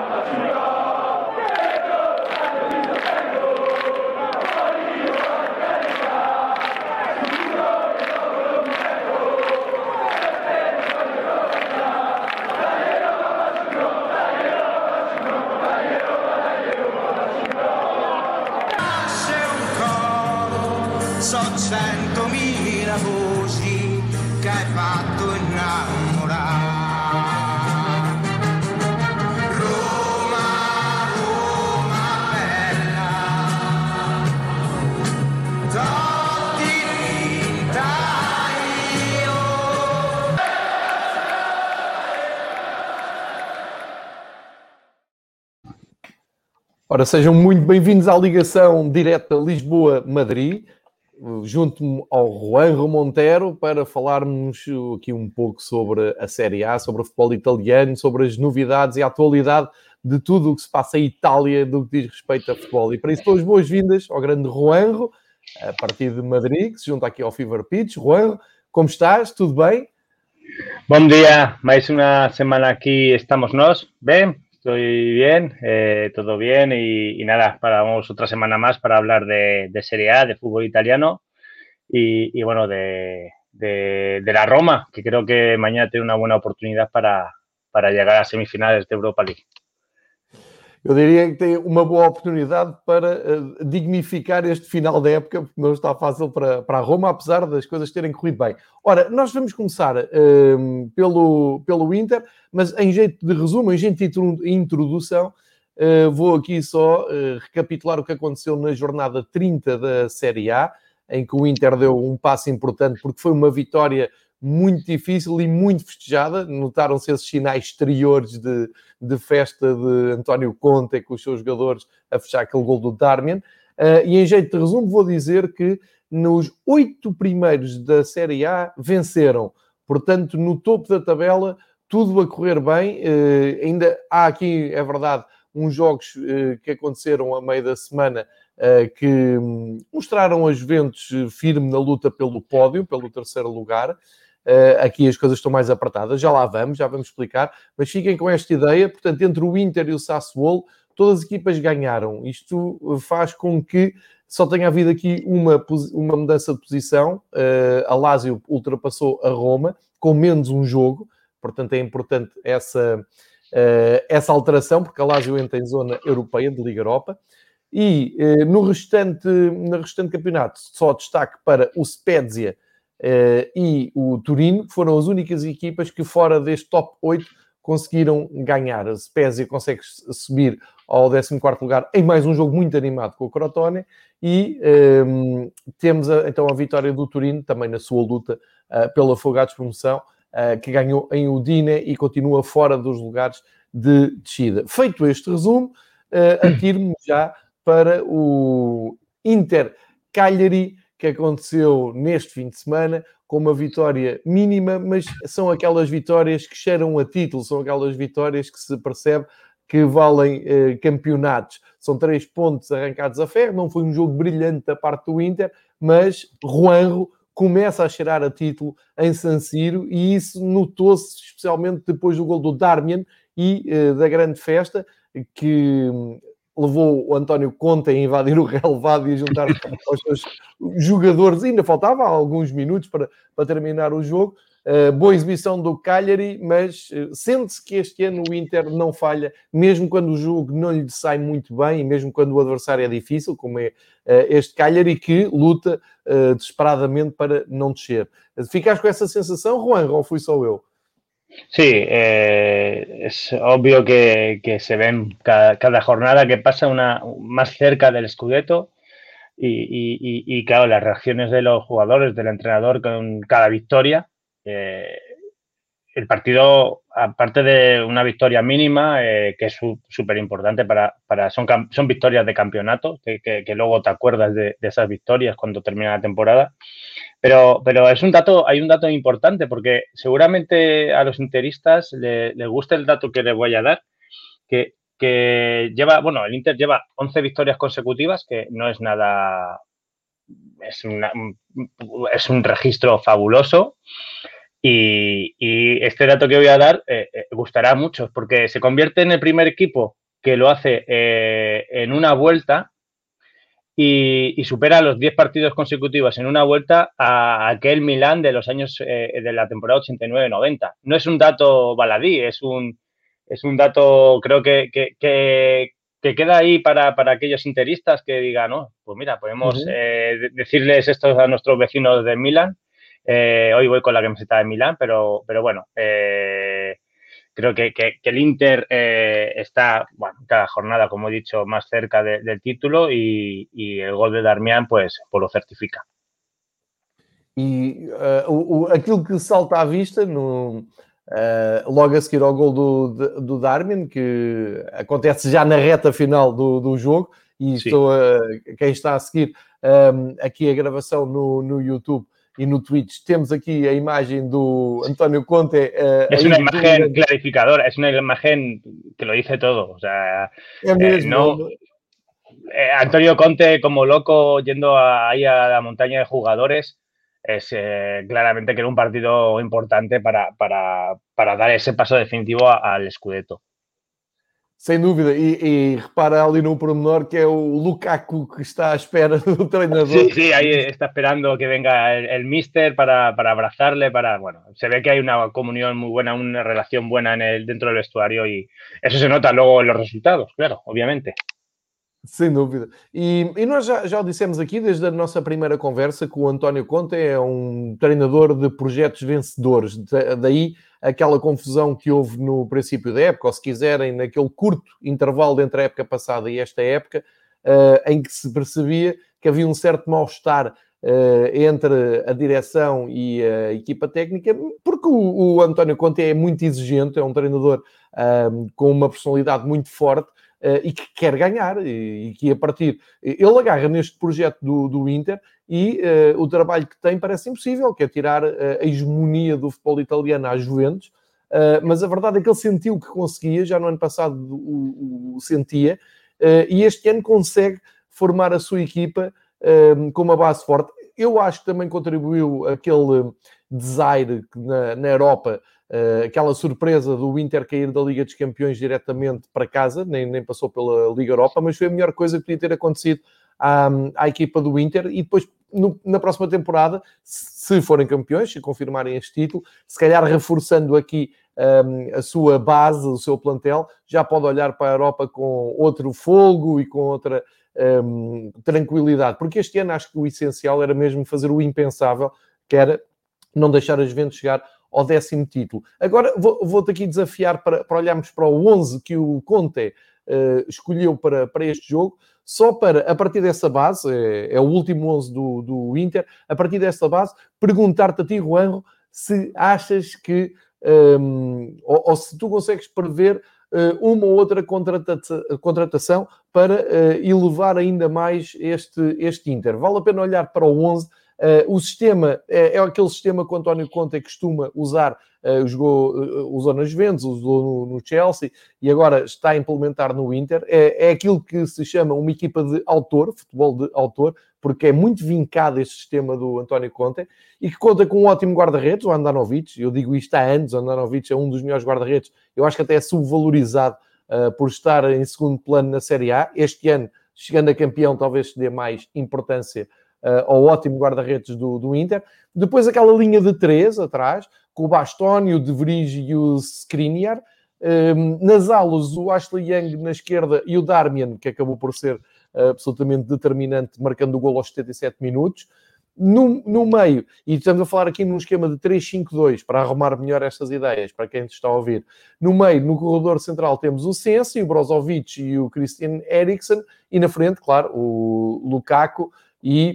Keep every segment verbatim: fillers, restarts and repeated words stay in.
So centomila voci che hai fatto innamorare. Roma, Roma bella, Totti vinta io. Ora, sejam muito bem-vindos à ligação direta Lisboa-Madrid. Junto-me ao Juanjo Montero para falarmos aqui um pouco sobre a Série A, sobre o futebol italiano, sobre as novidades e a atualidade de tudo o que se passa em Itália do que diz respeito a futebol. E para isso dou as boas-vindas ao grande Juanjo, a partir de Madrid, que se junta aqui ao Fever Pitch. Juanjo, como estás? Tudo bem? Bom dia, mais uma semana aqui estamos nós. Bem, estou bien, eh, todo bien y, y nada, paramos otra semana más para hablar de, de Serie A, de fútbol italiano y, y bueno, de, de, de la Roma, que creo que mañana tiene una buena oportunidad para, para llegar a semifinales de Europa League. Eu diria que tem uma boa oportunidade para uh, dignificar este final da época, porque não está fácil para, para a Roma, apesar das coisas terem corrido bem. Ora, nós vamos começar uh, pelo, pelo Inter, mas em jeito de resumo, em jeito de introdução, uh, vou aqui só uh, recapitular o que aconteceu na jornada trinta da Série A, em que o Inter deu um passo importante, porque foi uma vitória muito difícil e muito festejada. Notaram-se esses sinais exteriores de, de festa de António Conte com os seus jogadores a fechar aquele gol do Darmian. Uh, e em jeito de resumo vou dizer que nos oito primeiros da Série A venceram. Portanto, no topo da tabela, tudo a correr bem. Uh, ainda há aqui, é verdade, uns jogos uh, que aconteceram a meio da semana uh, que um, mostraram a Juventus firme na luta pelo pódio, pelo terceiro lugar. Uh, aqui as coisas estão mais apertadas, já lá vamos, já vamos explicar, mas fiquem com esta ideia. Portanto, entre o Inter e o Sassuolo, todas as equipas ganharam. Isto faz com que só tenha havido aqui uma, uma mudança de posição. Uh, a Lazio ultrapassou a Roma com menos um jogo, portanto é importante essa, uh, essa alteração, porque a Lazio entra em zona europeia, de Liga Europa. E uh, no, restante, no restante campeonato, só destaque para o Spezia Uh, e o Turino, que foram as únicas equipas que fora deste top oito conseguiram ganhar. A Spezia consegue subir ao décimo quarto lugar em mais um jogo muito animado com o Crotone e um, temos a, então a vitória do Turino, também na sua luta uh, pela Afogados Promoção, uh, que ganhou em Udine e continua fora dos lugares de descida. Feito este resumo, uh, atiro-me já para o Inter Cagliari, que aconteceu neste fim de semana, com uma vitória mínima, mas são aquelas vitórias que cheiram a título, são aquelas vitórias que se percebe que valem eh, campeonatos. São três pontos arrancados a ferro, não foi um jogo brilhante da parte do Inter, mas Juanjo começa a cheirar a título em San Siro, e isso notou-se especialmente depois do gol do Darmian e eh, da grande festa, que levou o António Conte a invadir o relevado e a juntar aos seus jogadores. Ainda faltava alguns minutos para, para terminar o jogo. Uh, boa exibição do Cagliari, mas uh, sente-se que este ano o Inter não falha, mesmo quando o jogo não lhe sai muito bem e mesmo quando o adversário é difícil, como é uh, este Cagliari, que luta uh, desesperadamente para não descer. Ficaste com essa sensação, Juan, ou fui só eu? Sí, eh, es obvio que, que se ven cada, cada jornada que pasa una más cerca del Scudetto y, y, y, claro, las reacciones de los jugadores, del entrenador con cada victoria. Eh, el partido, aparte de una victoria mínima, eh, que es súper importante para, para son, son victorias de campeonato, que, que, que luego te acuerdas de, de esas victorias cuando termina la temporada. Pero, pero es un dato, hay un dato importante, porque seguramente a los interistas les le gusta el dato que les voy a dar, que, que lleva, bueno, el Inter lleva once victorias consecutivas, que no es nada, es, una, es un registro fabuloso. Y, y este dato que voy a dar eh, eh, gustará a muchos, porque se convierte en el primer equipo que lo hace eh, en una vuelta y, y supera los diez partidos consecutivos en una vuelta a aquel Milán de los años eh, de la temporada ochenta y nueve noventa. No es un dato baladí, es un, es un dato, creo que, que, que, que queda ahí para, para aquellos interistas que digan, no, pues mira, podemos Uh-huh. eh, decirles esto a nuestros vecinos de Milán. Eh, hoy voy con la camiseta de Milán, pero, pero bueno, eh, creo que, que, que el Inter eh, está, bueno, cada jornada, como he dicho, más cerca de, del título y, y el gol de Darmian, pues, pues lo certifica. E uh, o, o, aquilo que salta à vista, no, uh, logo a seguir ao gol do, do Darmian, que acontece já na reta final do, do jogo, e Sim. estou a, quem está a seguir um, aqui a gravação no, no YouTube e no Twitch, temos aqui a imagem do António Conte. Uh, es una imagen do... clarificadora, es una imagen que lo dice todo. O sea, é mesmo, eh, no, eh, Antonio Conte como loco yendo a, ahí a la montaña de jugadores, es eh, claramente que era un partido importante para, para, para dar ese paso definitivo a, al Scudetto. Sem dúvida, e, e repara ali no pormenor que é o Lukaku que está à espera do treinador. Sí, sí, ahí está esperando que venga el, el míster para, para abrazarle, para, bueno, se ve que hay una comunión muy buena, una relación buena en el, dentro del vestuario y eso se nota luego en los resultados, claro, obviamente. Sem dúvida. E, e nós já, já o dissemos aqui desde a nossa primeira conversa que o António Conte é um treinador de projetos vencedores. Daí aquela confusão que houve no princípio da época, ou se quiserem, naquele curto intervalo entre a época passada e esta época, uh, em que se percebia que havia um certo mal-estar uh, entre a direção e a equipa técnica, porque o, o António Conte é muito exigente, é um treinador uh, com uma personalidade muito forte, Uh, e que quer ganhar, e, e que a partir... Ele agarra neste projeto do, do Inter e uh, o trabalho que tem parece impossível, que é tirar uh, a hegemonia do futebol italiano às Juventus, uh, mas a verdade é que ele sentiu que conseguia, já no ano passado o, o sentia, uh, e este ano consegue formar a sua equipa uh, com uma base forte. Eu acho que também contribuiu aquele desaire na, na Europa, Uh, aquela surpresa do Inter cair da Liga dos Campeões diretamente para casa, nem, nem passou pela Liga Europa, mas foi a melhor coisa que podia ter acontecido à, à equipa do Inter. E depois, no, na próxima temporada, se forem campeões, se confirmarem este título, se calhar reforçando aqui um, a sua base, o seu plantel, já pode olhar para a Europa com outro folgo e com outra um, tranquilidade. Porque este ano acho que o essencial era mesmo fazer o impensável, que era não deixar a Juventus chegar ao décimo título. Agora vou, vou-te aqui desafiar para, para olharmos para o onze que o Conte uh, escolheu para, para este jogo, só para, a partir dessa base, é, é o último onze do, do Inter, a partir dessa base, perguntar-te a ti, Juanjo, se achas que, um, ou, ou se tu consegues prever uh, uma ou outra contratação, contratação para uh, elevar ainda mais este, este Inter. Vale a pena olhar para o onze. Uh, o sistema é, é aquele sistema que o António Conte costuma usar, uh, jogou, uh, usou nas Juventus, usou no, no Chelsea e agora está a implementar no Inter. É, é aquilo que se chama uma equipa de autor, futebol de autor, porque é muito vincado este sistema do António Conte e que conta com um ótimo guarda-redes, o Andanovic. Eu digo isto há anos, o Andanovic é um dos melhores guarda-redes. Eu acho que até é subvalorizado uh, por estar em segundo plano na Série A. Este ano, chegando a campeão, talvez se dê mais importância Uh, ao ótimo guarda-redes do, do Inter. Depois aquela linha de três atrás, com o Bastoni, o De Vrij e o Skriniar. Um, nas alas, o Ashley Young na esquerda e o Darmian, que acabou por ser uh, absolutamente determinante, marcando o golo aos setenta e sete minutos. No, no meio, e estamos a falar aqui num esquema de três cinco dois, para arrumar melhor estas ideias, para quem está a ouvir. No meio, no corredor central, temos o Sensi, o Brozovic e o Christian Eriksen. E na frente, claro, o Lukaku e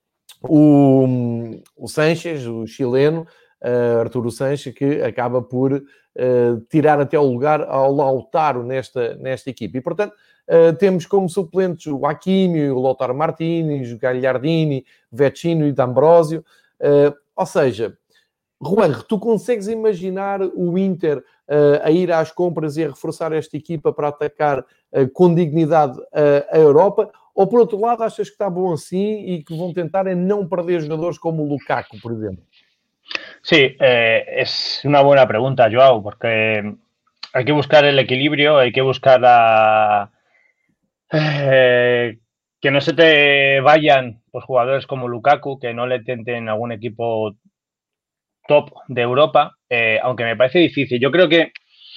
O, o Sanches, o chileno, uh, Arturo Sanches, que acaba por uh, tirar até o lugar ao Lautaro nesta, nesta equipe. E, portanto, uh, temos como suplentes o Hakimi, o Lautaro Martínez, o Gagliardini, o Vecino e D'Ambrosio. Uh, ou seja, Juan, tu consegues imaginar o Inter uh, a ir às compras e a reforçar esta equipa para atacar uh, com dignidade uh, a Europa? Ou, por outro lado, achas que está bom assim e que vão tentar é não perder jogadores como o Lukaku, por exemplo? Sí, eh, es una buena pregunta, Joao, porque hay que buscar el equilibrio, hay que buscar la, eh, que no se te vayan pues, jugadores como Lukaku, que no le tenten algún equipo top de Europa, eh, aunque me parece difícil. Yo creo que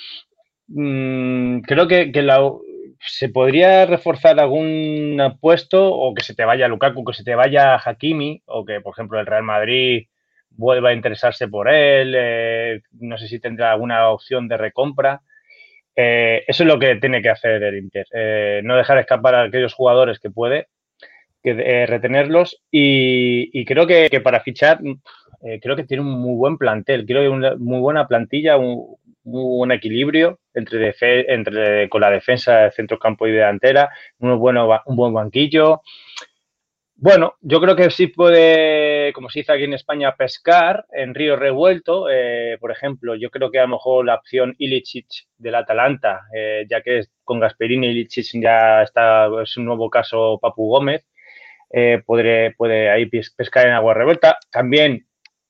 mmm, creo que, que la, se podría reforzar algún puesto o que se te vaya Lukaku, que se te vaya Hakimi o que, por ejemplo, el Real Madrid vuelva a interesarse por él. Eh, no sé si tendrá alguna opción de recompra. Eh, eso es lo que tiene que hacer el Inter. Eh, no dejar escapar a aquellos jugadores que puede, que, eh, retenerlos y, y creo que, que, para fichar, eh, creo que tiene un muy buen plantel, creo que una muy buena plantilla, un muy buen equilibrio entre, defe entre con la defensa de centrocampo y delantera, un, bueno, un buen banquillo. Bueno, yo creo que sí puede, como se dice aquí en España, pescar en río revuelto. Eh, por ejemplo, yo creo que a lo mejor la opción Ilicic del Atalanta, eh, ya que con Gasperini Ilicic ya está, es un nuevo caso Papu Gómez, eh, puede, puede ahí pescar en agua revuelta. También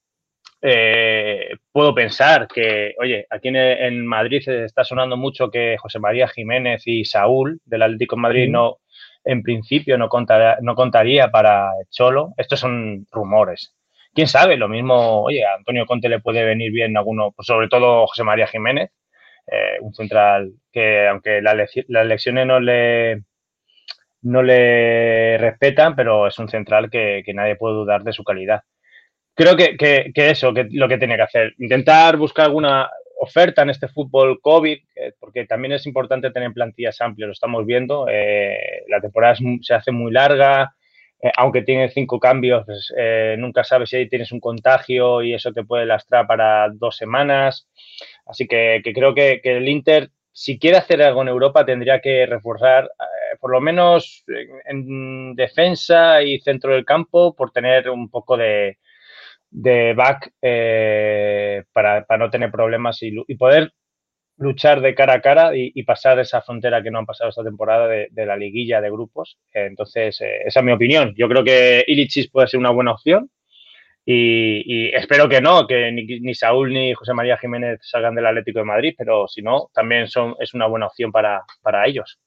eh, puedo pensar que, oye, aquí en, en Madrid se está sonando mucho que José María Jiménez y Saúl del Atlético de Madrid no, en principio no, contará, no contaría para el Cholo. Estos son rumores. ¿Quién sabe? Lo mismo, oye, a Antonio Conte le puede venir bien alguno, pues sobre todo José María Jiménez, eh, un central que aunque la las lesiones no le no le respetan, pero es un central que, que nadie puede dudar de su calidad. Creo que, que, que eso, que lo que tiene que hacer, intentar buscar alguna oferta en este fútbol COVID, eh, porque también es importante tener plantillas amplias, lo estamos viendo, eh, la temporada es, se hace muy larga, eh, aunque tiene cinco cambios, pues, eh, nunca sabes si ahí tienes un contagio y eso te puede lastrar para dos semanas, así que, que creo que, que el Inter, si quiere hacer algo en Europa, tendría que reforzar, eh, por lo menos en, en defensa y centro del campo, por tener un poco de de back eh, para, para, no tener problemas y, y, poder luchar de cara a cara y, y pasar esa frontera que no han pasado esta temporada de, de la liguilla de grupos. Eh, entonces, eh, esa es mi opinión. Yo creo que Ilicic puede ser una buena opción y, y espero que no, que ni, ni Saúl ni José María Jiménez salgan del Atlético de Madrid, pero si no, también son, es una buena opción para, para ellos.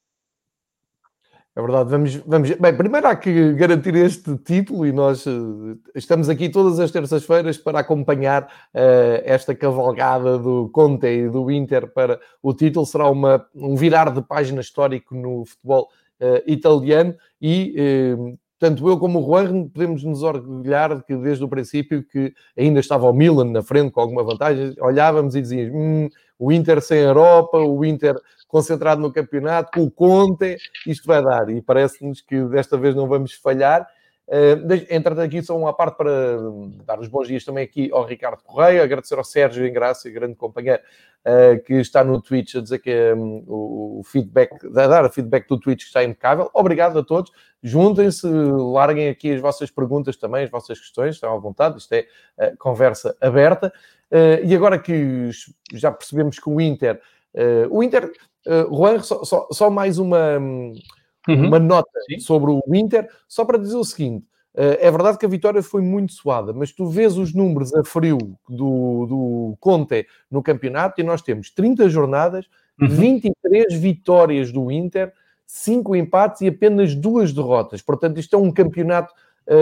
É verdade, vamos, vamos. Bem, primeiro há que garantir este título e nós uh, estamos aqui todas as terças-feiras para acompanhar uh, esta cavalgada do Conte e do Inter para o título. Será uma, um virar de página histórico no futebol uh, italiano e uh, tanto eu como o Juan podemos nos orgulhar de que desde o princípio que ainda estava o Milan na frente com alguma vantagem, olhávamos e dizíamos hum, o Inter sem Europa, o Inter concentrado no campeonato, com o Conte, isto vai dar. E parece-nos que desta vez não vamos falhar. Uh, Entretanto, aqui só uma parte para dar os bons dias também aqui ao Ricardo Correia, agradecer ao Sérgio Engrácia, grande companheiro, uh, que está no Twitch a dizer que um, o feedback, a dar o feedback do Twitch está impecável. Obrigado a todos. Juntem-se, larguem aqui as vossas perguntas também, as vossas questões, estão à vontade, isto é uh, conversa aberta. Uh, e agora que já percebemos que o Inter, uh, o Inter, uh, Juan, só, só, só mais uma, uhum. uma nota Sim. sobre o Inter, só para dizer o seguinte, uh, é verdade que a vitória foi muito suada, mas tu vês os números a frio do, do Conte no campeonato e nós temos trinta jornadas, uhum. vinte e três vitórias do Inter, cinco empates e apenas duas derrotas. Portanto, isto é um campeonato,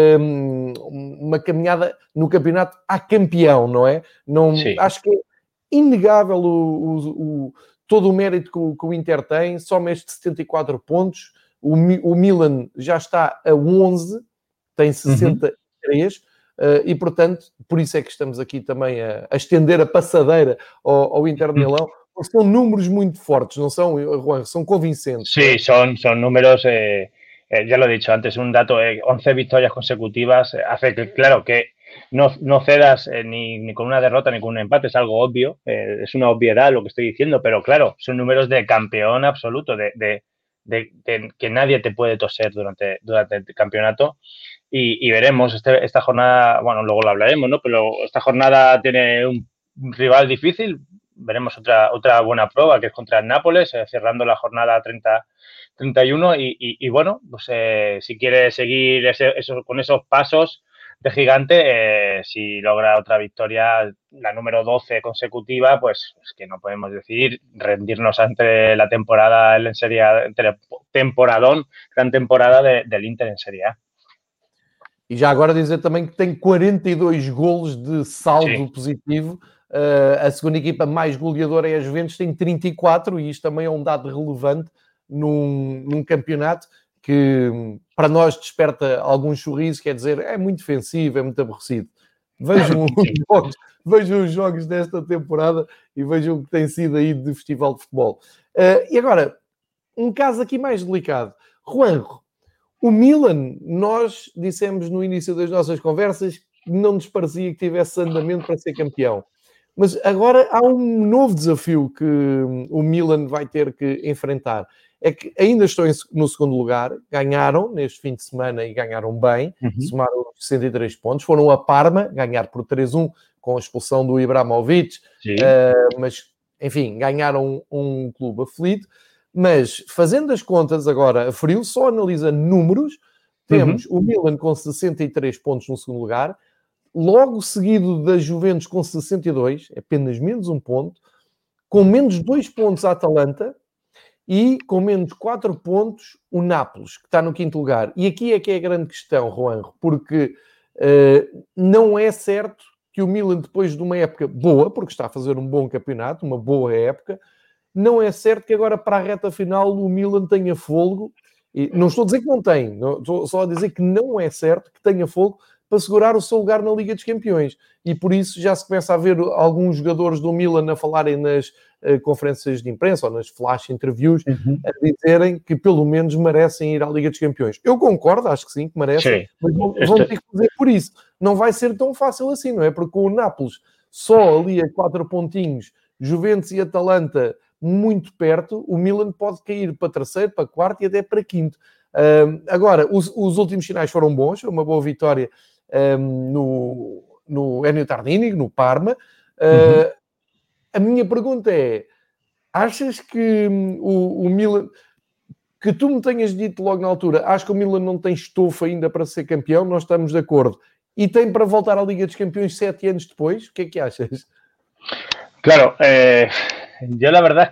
um, uma caminhada no campeonato a campeão, não é? Não, acho que é inegável o, o, o, todo o mérito que o, que o Inter tem, só estes setenta e quatro pontos. O, o Milan já está a onze, tem sessenta e três, uhum. uh, e, portanto, por isso é que estamos aqui também a, a estender a passadeira ao, ao Inter de Milão. São números muito fortes, ¿no son, Juan? Son convincentes. Sí, ¿no? son, son números, eh, eh, ya lo he dicho antes, un dato, eh, once victorias consecutivas, eh, hace que, claro, que no, no cedas eh, ni, ni con una derrota ni con un empate, es algo obvio, eh, es una obviedad lo que estoy diciendo, pero claro, son números de campeón absoluto, de, de, de, de que nadie te puede toser durante, durante el campeonato. Y, y veremos, este, esta jornada, bueno, luego lo hablaremos, ¿no? Pero esta jornada tiene un rival difícil. Veremos otra, otra buena prueba, que es contra el Nápoles, eh, cerrando la jornada treinta, treinta y uno. Y, y, y bueno, pues eh, si quiere seguir ese, eso, con esos pasos, de gigante, eh, si logra otra victoria, la número doce consecutiva, pues es que no podemos decir rendirnos ante la temporada en Serie A, entre temporadón, gran temporada de, del Inter en Serie A. E já agora dizer também que tem quarenta e dois golos de saldo Sim. positivo. Uh, a segunda equipa mais goleadora é a Juventus, tem trinta e quatro, e isto também é um dado relevante num, num campeonato que para nós desperta algum sorriso, quer dizer, é muito defensivo, é muito aborrecido. Vejam os jogos, vejam os jogos desta temporada e vejam o que tem sido aí de festival de futebol. Uh, e agora, um caso aqui mais delicado. Juanjo, o Milan, nós dissemos no início das nossas conversas que não nos parecia que tivesse andamento para ser campeão. Mas agora há um novo desafio que o Milan vai ter que enfrentar. É que ainda estão no segundo lugar, ganharam neste fim de semana e ganharam bem, uhum. somaram sessenta e três pontos, foram a Parma, ganhar por três a um com a expulsão do Ibrahimovic, uh, mas, enfim, ganharam um, um clube aflito. Mas, fazendo as contas agora a frio, só analisando números, temos uhum. o Milan com sessenta e três pontos no segundo lugar, logo seguido da Juventus com sessenta e dois, apenas menos um ponto, com menos dois pontos a Atalanta e com menos quatro pontos o Nápoles, que está no quinto lugar. E aqui é que é a grande questão, Juanjo, porque uh, não é certo que o Milan, depois de uma época boa, porque está a fazer um bom campeonato, uma boa época, não é certo que agora para a reta final o Milan tenha fôlego. E não estou a dizer que não tem, não, estou só a dizer que não é certo que tenha fôlego para segurar o seu lugar na Liga dos Campeões. E por isso já se começa a ver alguns jogadores do Milan a falarem nas uh, conferências de imprensa ou nas flash interviews, uhum. a dizerem que pelo menos merecem ir à Liga dos Campeões. Eu concordo, acho que sim, que merecem, sim. mas vão, vão ter que fazer por isso. Não vai ser tão fácil assim, não é? Porque o Nápoles só ali a quatro pontinhos, Juventus e Atalanta muito perto, o Milan pode cair para terceiro, para quarto e até para quinto. Um, agora, os, os últimos sinais foram bons, uma boa vitória um, no, no Ennio Tardini, no Parma. Uh, uhum. A minha pergunta é, achas que um, o, o Milan, que tu me tenhas dito logo na altura, acho que o Milan não tem estofo ainda para ser campeão, nós estamos de acordo, e tem para voltar à Liga dos Campeões sete anos depois? O que é que achas? Claro, eh... yo la verdad es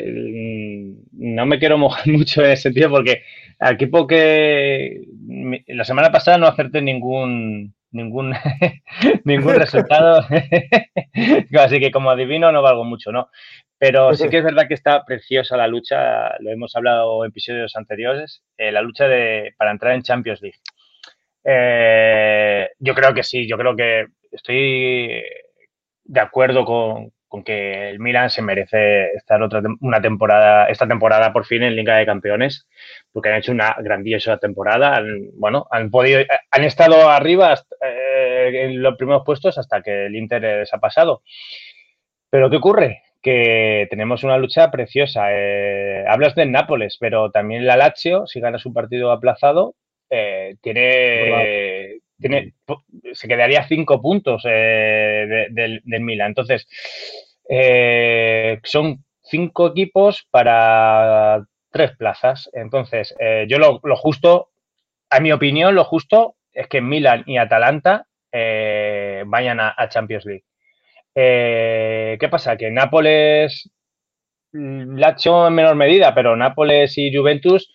que no me quiero mojar mucho en ese sentido porque al equipo que la semana pasada no acerté ningún ningún ningún resultado, así que como adivino no valgo mucho, ¿no? Pero sí que es verdad que está preciosa la lucha, lo hemos hablado en episodios anteriores, eh, la lucha de para entrar en Champions League. Eh, yo creo que sí, yo creo que estoy de acuerdo con con que el Milan se merece estar otra una temporada, esta temporada por fin en Liga de Campeones, porque han hecho una grandiosa temporada, han, bueno, han podido, han estado arriba hasta, eh, en los primeros puestos hasta que el Inter les ha pasado. Pero ¿qué ocurre? Que tenemos una lucha preciosa. Eh, hablas del Nápoles, pero también la Lazio, si gana su partido aplazado, eh, tiene... Tiene, se quedaría cinco puntos eh, de, del, del Milan. Entonces, eh, son cinco equipos para tres plazas. Entonces, eh, yo lo, lo justo, a mi opinión, lo justo es que Milan y Atalanta eh, vayan a, a Champions League. Eh, ¿Qué pasa? Que Nápoles, Lazio en menor medida, pero Nápoles y Juventus,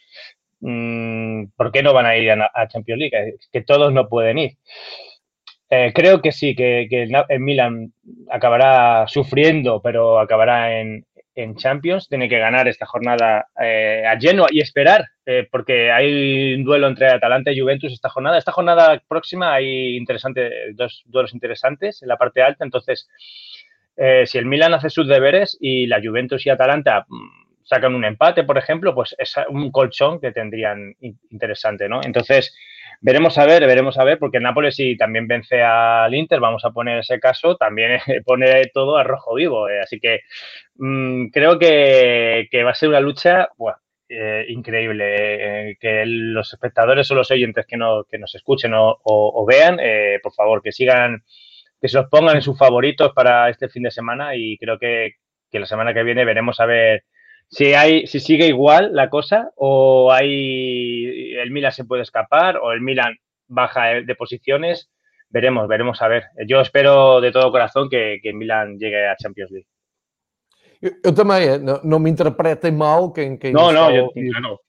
¿por qué no van a ir a, a Champions League? Que todos no pueden ir. Eh, creo que sí, que, que el Milan acabará sufriendo, pero acabará en, en Champions. Tiene que ganar esta jornada eh, a Genoa y esperar, eh, porque hay un duelo entre Atalanta y Juventus esta jornada. Esta jornada próxima hay interesante, dos duelos interesantes en la parte alta. Entonces, eh, si el Milan hace sus deberes y la Juventus y Atalanta sacan un empate, por ejemplo, pues es un colchón que tendrían interesante, ¿no? Entonces, veremos a ver, veremos a ver, porque el Nápoles si también vence al Inter, vamos a poner ese caso, también pone todo a rojo vivo. Eh, así que mmm, creo que, que va a ser una lucha bueno, eh, increíble. Eh, que los espectadores o los oyentes que, no, que nos escuchen o, o, o vean, eh, por favor, que sigan, que se los pongan en sus favoritos para este fin de semana y creo que, que la semana que viene veremos a ver si hay, si sigue igual la cosa o hay el Milan se puede escapar o el Milan baja de posiciones, veremos, veremos a ver. Yo espero de todo corazón que, que Milan llegue a Champions League. Eu, eu também, não, não me interpretem mal quem, quem No, está no, a yo, ouvir. claro.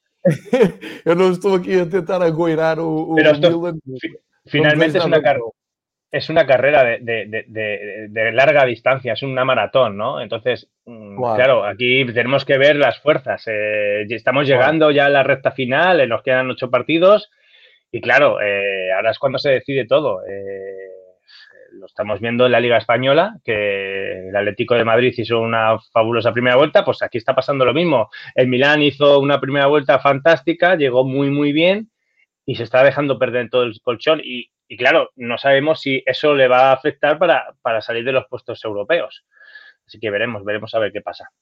Eu não estou aqui a tentar agoirar o, o Pero esto Milan. fi- Não finalmente desejo es nada una, car- mal. es una carrera de, de- de- de- de larga distancia, es una maratón, ¿no? Entonces, mm, Claro, claro, aquí tenemos que ver las fuerzas. Eh, y estamos claro. llegando ya a la recta final, eh, nos quedan ocho partidos y claro, eh, ahora es cuando se decide todo. Eh, lo estamos viendo en la Liga Española, que el Atlético de Madrid hizo una fabulosa primera vuelta, pues aquí está pasando lo mismo. El Milán hizo una primera vuelta fantástica, llegó muy, muy bien y se está dejando perder todo el colchón. Y, y claro, no sabemos si eso le va a afectar para, para salir de los puestos europeos. Así que veremos, veremos a ver qué pasa.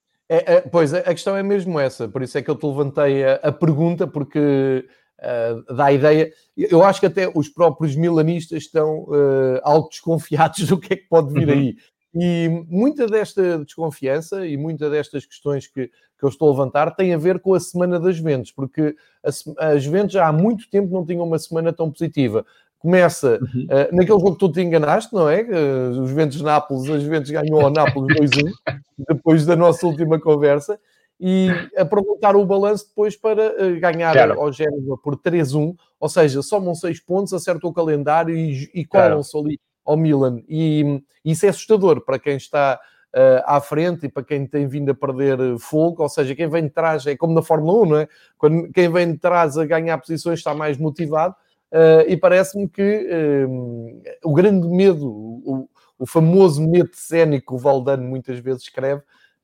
É, é, pois, a questão é mesmo essa. Por isso é que eu te levantei a, a pergunta, porque uh, dá a ideia... Eu acho que até os próprios milanistas estão uh, algo desconfiados do que é que pode vir aí. E muita desta desconfiança e muita destas questões que, que eu estou a levantar tem a ver com a Semana das Juventus, porque a, as Juventus já há muito tempo não tinham uma semana tão positiva. Começa Uhum. uh, naquele jogo que tu te enganaste, não é? Uh, os Juventus-Nápoles, a Juventus ganhou ao Nápoles dois a um, depois da nossa última conversa, e aproveitar o balanço depois para uh, ganhar Claro. ao Génova por três a um, ou seja, somam seis pontos, acertam o calendário e, e Claro. colam-se ali ao Milan. E isso é assustador para quem está uh, à frente e para quem tem vindo a perder fogo, ou seja, quem vem de trás, é como na Fórmula um, não é? Quando quem vem de trás a ganhar posições está mais motivado. Uh, e parece-me que uh, o grande medo, o, o famoso medo cénico que o Valdano muitas vezes escreve,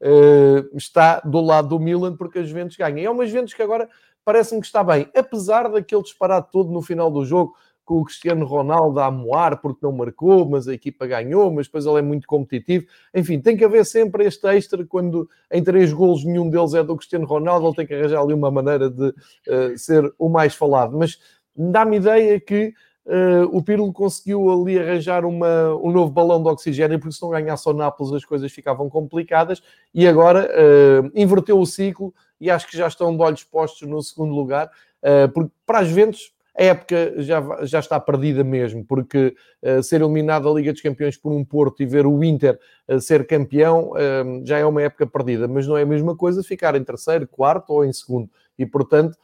uh, está do lado do Milan, porque as Juventus ganham. E é uma Juventus que agora parece-me que está bem, apesar daquele disparate todo no final do jogo, com o Cristiano Ronaldo a moar porque não marcou, mas a equipa ganhou, mas depois ele é muito competitivo. Enfim, tem que haver sempre este extra, quando em três golos nenhum deles é do Cristiano Ronaldo, ele tem que arranjar ali uma maneira de uh, ser o mais falado. Mas dá-me ideia que uh, o Pirlo conseguiu ali arranjar uma, um novo balão de oxigênio, porque se não ganhasse ao Nápoles as coisas ficavam complicadas, e agora uh, inverteu o ciclo e acho que já estão de olhos postos no segundo lugar, uh, porque para as Juventus a época já, já está perdida mesmo, porque uh, ser eliminado da Liga dos Campeões por um Porto e ver o Inter uh, ser campeão uh, já é uma época perdida, mas não é a mesma coisa ficar em terceiro, quarto ou em segundo, e portanto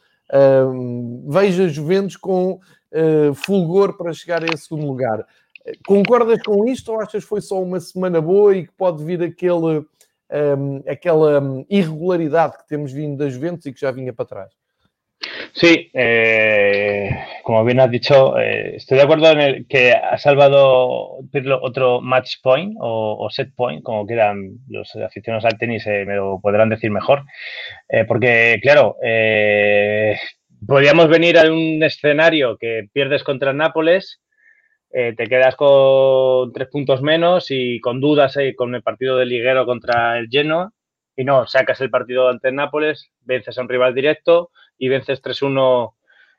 Uh, veja Juventus com uh, fulgor para chegar a esse segundo lugar. Concordas com isto ou achas que foi só uma semana boa e que pode vir aquele, um, aquela irregularidade que temos vindo da Juventus e que já vinha para trás? Sí, eh, como bien has dicho, eh, estoy de acuerdo en el que ha salvado Pirlo otro match point o, o set point, como quieran los aficionados al tenis, eh, me lo podrán decir mejor, eh, porque claro, eh, podríamos venir a un escenario que pierdes contra el Nápoles, eh, te quedas con tres puntos menos y con dudas eh, con el partido de liguero contra el Genoa, y no, sacas el partido ante el Nápoles, vences a un rival directo y vences tres uno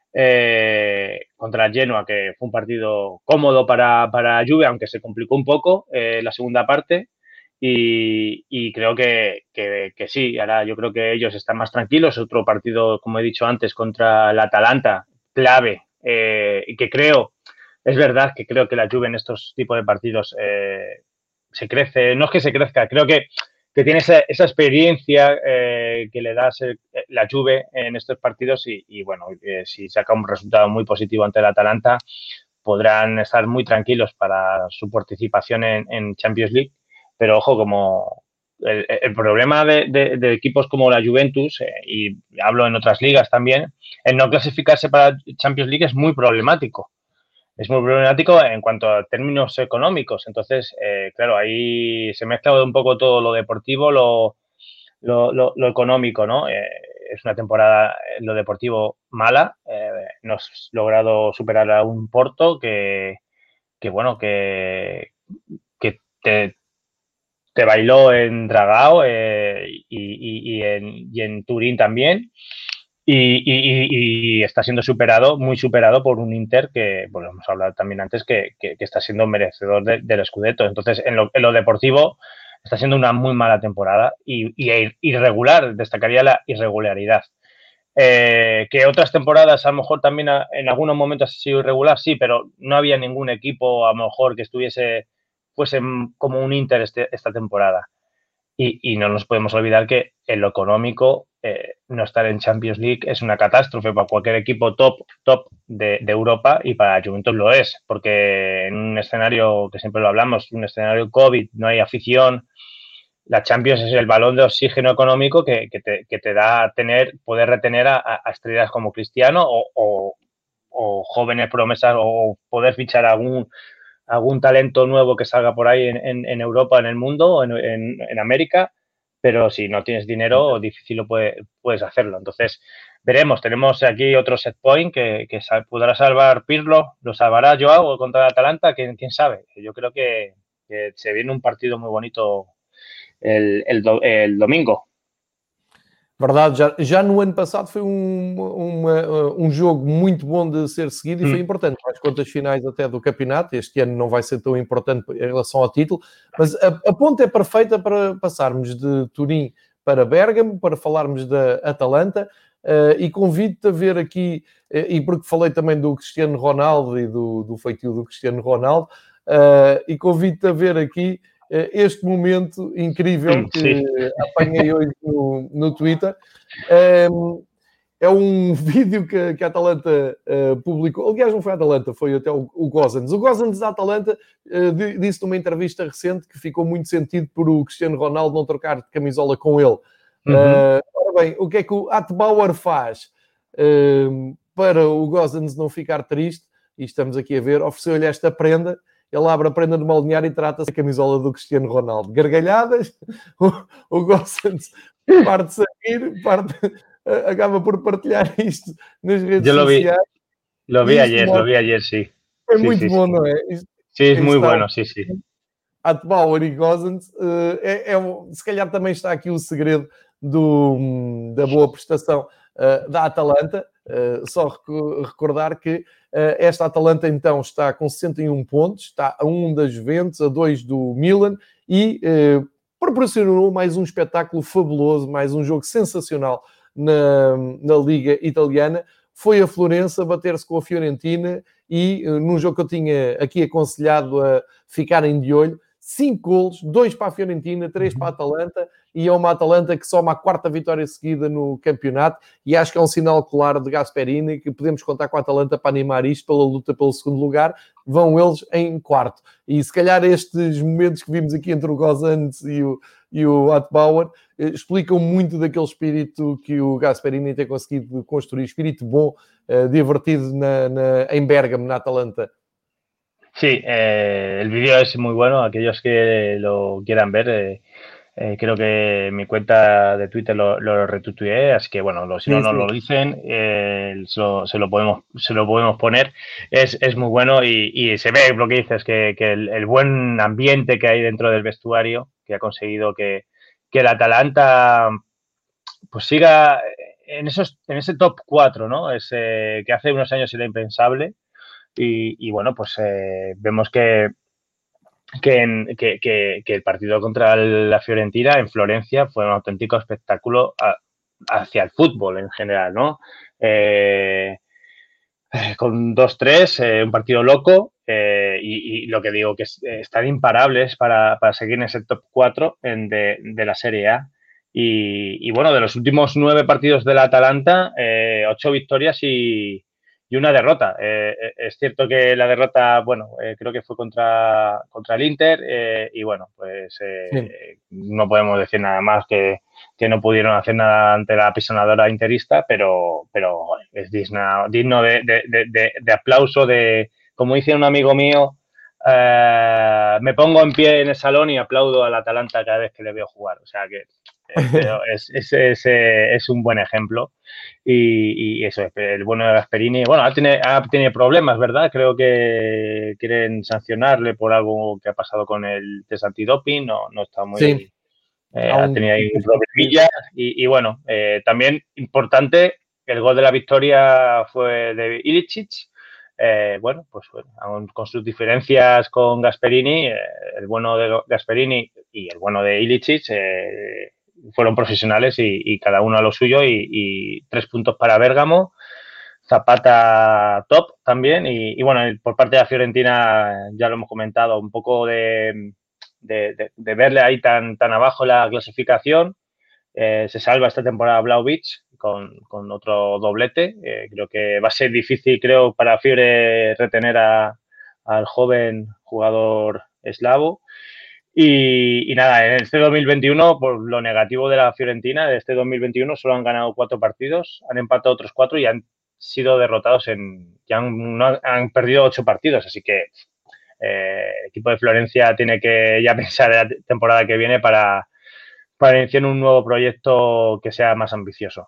eh, contra el Genoa, que fue un partido cómodo para, para Juve, aunque se complicó un poco eh, la segunda parte. Y, y creo que, que, que sí, ahora yo creo que ellos están más tranquilos. Otro partido, como he dicho antes, contra el Atalanta, clave, eh, y que creo, es verdad que creo que la Juve en estos tipos de partidos eh, se crece, no es que se crezca, creo que que tiene esa, esa experiencia eh, que le da ser, eh, la Juve en estos partidos y, y bueno, eh, si saca un resultado muy positivo ante el Atalanta, podrán estar muy tranquilos para su participación en, en Champions League, pero ojo, como el, el problema de, de, de equipos como la Juventus, eh, y hablo en otras ligas también, el no clasificarse para Champions League es muy problemático. Es muy problemático en cuanto a términos económicos. Entonces, eh, claro, ahí se mezcla un poco todo lo deportivo, lo, lo, lo, lo económico, ¿no? Eh, es una temporada en lo deportivo mala. Eh, no has logrado superar a un Porto que, que bueno, que, que te, te bailó en Dragao eh, y, y, y, en, y en Turín también. Y, y, y está siendo superado, muy superado por un Inter que, bueno, hemos hablado también antes, que, que, que está siendo merecedor de, del Scudetto. Entonces, en lo, en lo deportivo está siendo una muy mala temporada y, y irregular, destacaría la irregularidad. Eh, que otras temporadas a lo mejor también a, en algunos momentos ha sido irregular, sí, pero no había ningún equipo a lo mejor que estuviese, fuese como un Inter este, esta temporada. Y, y, no nos podemos olvidar que en lo económico, eh, no estar en Champions League es una catástrofe para cualquier equipo top, top de, de Europa, y para Juventus lo es, porque en un escenario que siempre lo hablamos, un escenario COVID, no hay afición. La Champions es el balón de oxígeno económico que, que, te, que te da a tener, poder retener a, a estrellas como Cristiano o, o, o jóvenes promesas, o poder fichar algún, algún talento nuevo que salga por ahí en, en, en Europa, en el mundo, en, en, en América, pero si no tienes dinero, difícil lo puede, puedes hacerlo. Entonces, veremos. Tenemos aquí otro set point que, que podrá salvar Pirlo, lo salvará Joao contra el Atalanta, ¿quién, quién sabe? Yo creo que, que se viene un partido muy bonito el, el, do, el domingo. Verdade, já, já no ano passado foi um, uma, um jogo muito bom de ser seguido e foi importante para as contas finais até do campeonato. Este ano não vai ser tão importante em relação ao título, mas a, a ponta é perfeita para passarmos de Turim para Bérgamo, para falarmos da Atalanta, uh, e convido-te a ver aqui, uh, e porque falei também do Cristiano Ronaldo e do, do feitio do Cristiano Ronaldo, uh, e convido-te a ver aqui este momento incrível que Sim. apanhei hoje no, no Twitter. Um, é um vídeo que, que a Atalanta uh, publicou. Aliás, não foi a Atalanta, foi até o, o Gozans. O Gozans da Atalanta uh, disse numa entrevista recente que ficou muito sentido por o Cristiano Ronaldo não trocar de camisola com ele. Uhum. Uh, ora bem, o que é que o Atbauer faz uh, para o Gozans não ficar triste? E estamos aqui a ver, ofereceu-lhe esta prenda. Ele abre a prenda de moldear e trata-se a camisola do Cristiano Ronaldo. Gargalhadas, o, o Gossens parte-se a rir, parte, acaba por partilhar isto nas redes Yo lo sociais. Vi, lo vi ayer, mostra... lo vi ayer, sí. É sí, muito sí, bom, sí. não é? Isto, sí, es muy bueno, sí, sí. Atbauer e Gossens, é, é, se calhar também está aqui o segredo do, da boa prestação uh, da Atalanta. Uh, só rec- recordar que uh, esta Atalanta então está com sessenta e um pontos, está a um da Juventus, a dois do Milan e uh, proporcionou mais um espetáculo fabuloso, mais um jogo sensacional na, na Liga Italiana. Foi a Florença bater-se com a Fiorentina e uh, num jogo que eu tinha aqui aconselhado a ficarem de olho, cinco golos, dois para a Fiorentina, três para a Atalanta, e é uma Atalanta que soma a quarta vitória seguida no campeonato, e acho que é um sinal claro de Gasperini que podemos contar com a Atalanta para animar isto pela luta pelo segundo lugar. Vão eles em quarto. E se calhar estes momentos que vimos aqui entre o Gozans e o, e o Atbauer eh, explicam muito daquele espírito que o Gasperini tem conseguido construir, espírito bom, eh, divertido na, na, em Bérgamo, na Atalanta. Sí, eh, el vídeo es muy bueno. Aquellos que lo quieran ver, eh, eh, creo que mi cuenta de Twitter lo, lo retuiteé, así que bueno, lo, si no Sí, nos sí. lo dicen, eh, se, lo, se, lo podemos, se lo podemos poner. Es, es muy bueno y, y se ve lo que dices, que, que el, el buen ambiente que hay dentro del vestuario, que ha conseguido que, que el Atalanta pues siga en, esos, en ese top cuatro, ¿no? Ese, que hace unos años era impensable. Y, y bueno, pues eh, vemos que, que, en, que, que, que el partido contra la Fiorentina en Florencia fue un auténtico espectáculo a, hacia el fútbol en general, ¿no? Eh, con dos tres, eh, un partido loco, eh, y, y lo que digo, que es, eh, están imparables para, para seguir en ese top cuatro en de, de la Serie A. Y, y bueno, de los últimos nueve partidos de la Atalanta, eh, ocho victorias y, y una derrota. Eh, es cierto que la derrota, bueno, eh, creo que fue contra, contra el Inter, eh, y bueno, pues eh, sí. no podemos decir nada más que, que no pudieron hacer nada ante la apisonadora interista, pero, pero es digno, digno de, de, de, de aplauso, de, como dice un amigo mío, eh, me pongo en pie en el salón y aplaudo al Atalanta cada vez que le veo jugar. O sea que es, es, es, es un buen ejemplo. Y, y eso, el bueno de Gasperini, bueno, ha tenido, ha tenido problemas, ¿verdad? Creo que quieren sancionarle por algo que ha pasado con el test antidoping, no, no está muy... Sí. Eh, ha tenido ahí un problemilla y, y bueno, eh, también importante, el gol de la victoria fue de Ilicic. Eh, bueno, pues bueno, aún con sus diferencias con Gasperini, eh, el bueno de Gasperini y el bueno de Ilicic, eh, fueron profesionales y, y cada uno a lo suyo y, y tres puntos para Bérgamo. Zapata top también y, y bueno, por parte de la Fiorentina ya lo hemos comentado, un poco de, de, de, de verle ahí tan, tan abajo la clasificación. Eh, se salva esta temporada Vlahovic con, con otro doblete. Eh, creo que va a ser difícil, creo, para Fiore retener a, al joven jugador eslavo. Y, y nada, en este dos mil veintiuno, por lo negativo de la Fiorentina, de este dos mil veintiuno solo han ganado cuatro partidos, han empatado otros cuatro y han sido derrotados en... ya han, no, han perdido ocho partidos, así que eh, el equipo de Florencia tiene que ya pensar en la temporada que viene para, para iniciar un nuevo proyecto que sea más ambicioso.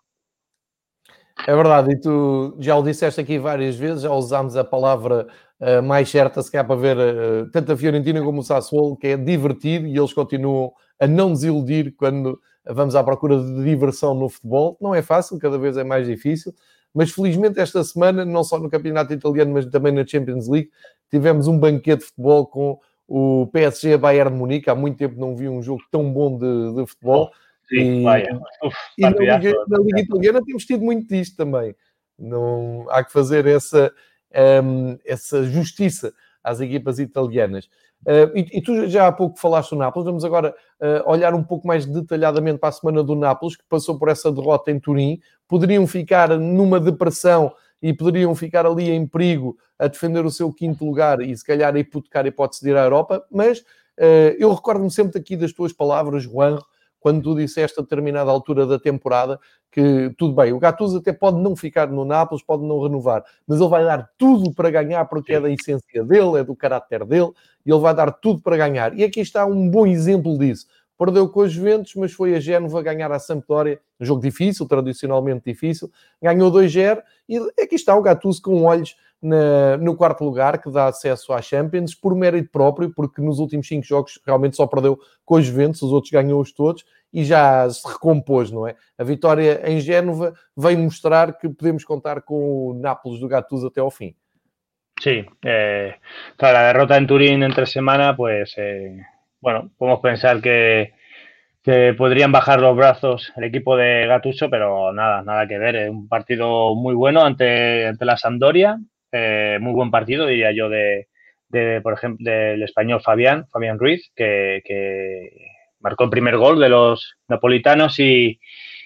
É verdade, e tu já o disseste aqui várias vezes, já usámos a palavra uh, mais certa, se calhar para ver uh, tanto a Fiorentina como o Sassuolo, que é divertido e eles continuam a não desiludir quando vamos à procura de diversão no futebol. Não é fácil, cada vez é mais difícil, mas felizmente esta semana, não só no campeonato italiano, mas também na Champions League, tivemos um banquete de futebol com o P S G Bayern de Munique. Há muito tempo não vi um jogo tão bom de, de futebol. Sim, e Uf, e na Liga, na Liga Italiana temos tido muito disto também. Não, há que fazer essa, um, essa justiça às equipas italianas. Uh, e, e tu já há pouco falaste do Nápoles, vamos agora uh, olhar um pouco mais detalhadamente para a semana do Nápoles, que passou por essa derrota em Turim. Poderiam ficar numa depressão e poderiam ficar ali em perigo a defender o seu quinto lugar e se calhar a hipotecar a hipótese de ir à Europa, mas uh, eu recordo-me sempre aqui das tuas palavras, Juan, quando tu disseste a determinada altura da temporada que, tudo bem, o Gattuso até pode não ficar no Nápoles, pode não renovar, mas ele vai dar tudo para ganhar porque é da essência dele, é do caráter dele, e ele vai dar tudo para ganhar. E aqui está um bom exemplo disso. Perdeu com os Juventus, mas foi a Génova ganhar a Sampdoria, um jogo difícil, tradicionalmente difícil, ganhou dois a zero, e aqui está o Gattuso com olhos Na, no quarto lugar, que dá acesso à Champions, por mérito próprio, porque nos últimos cinco jogos realmente só perdeu com os Juventus, os outros ganhou-os todos, e já se recompôs, não é? A vitória em Génova veio mostrar que podemos contar com o Nápoles do Gattuso até ao fim. Sí, eh, tras la derrota en Turín entre semana, pues, eh, bueno, podemos pensar que, que podrían bajar los brazos el equipo de Gattuso, pero nada, nada que ver. Es un partido muy bueno ante, ante la Sampdoria. Eh, muy buen partido, diría yo, de, de por ejemplo, del español Fabián, Fabián Ruiz, que, que marcó el primer gol de los napolitanos y,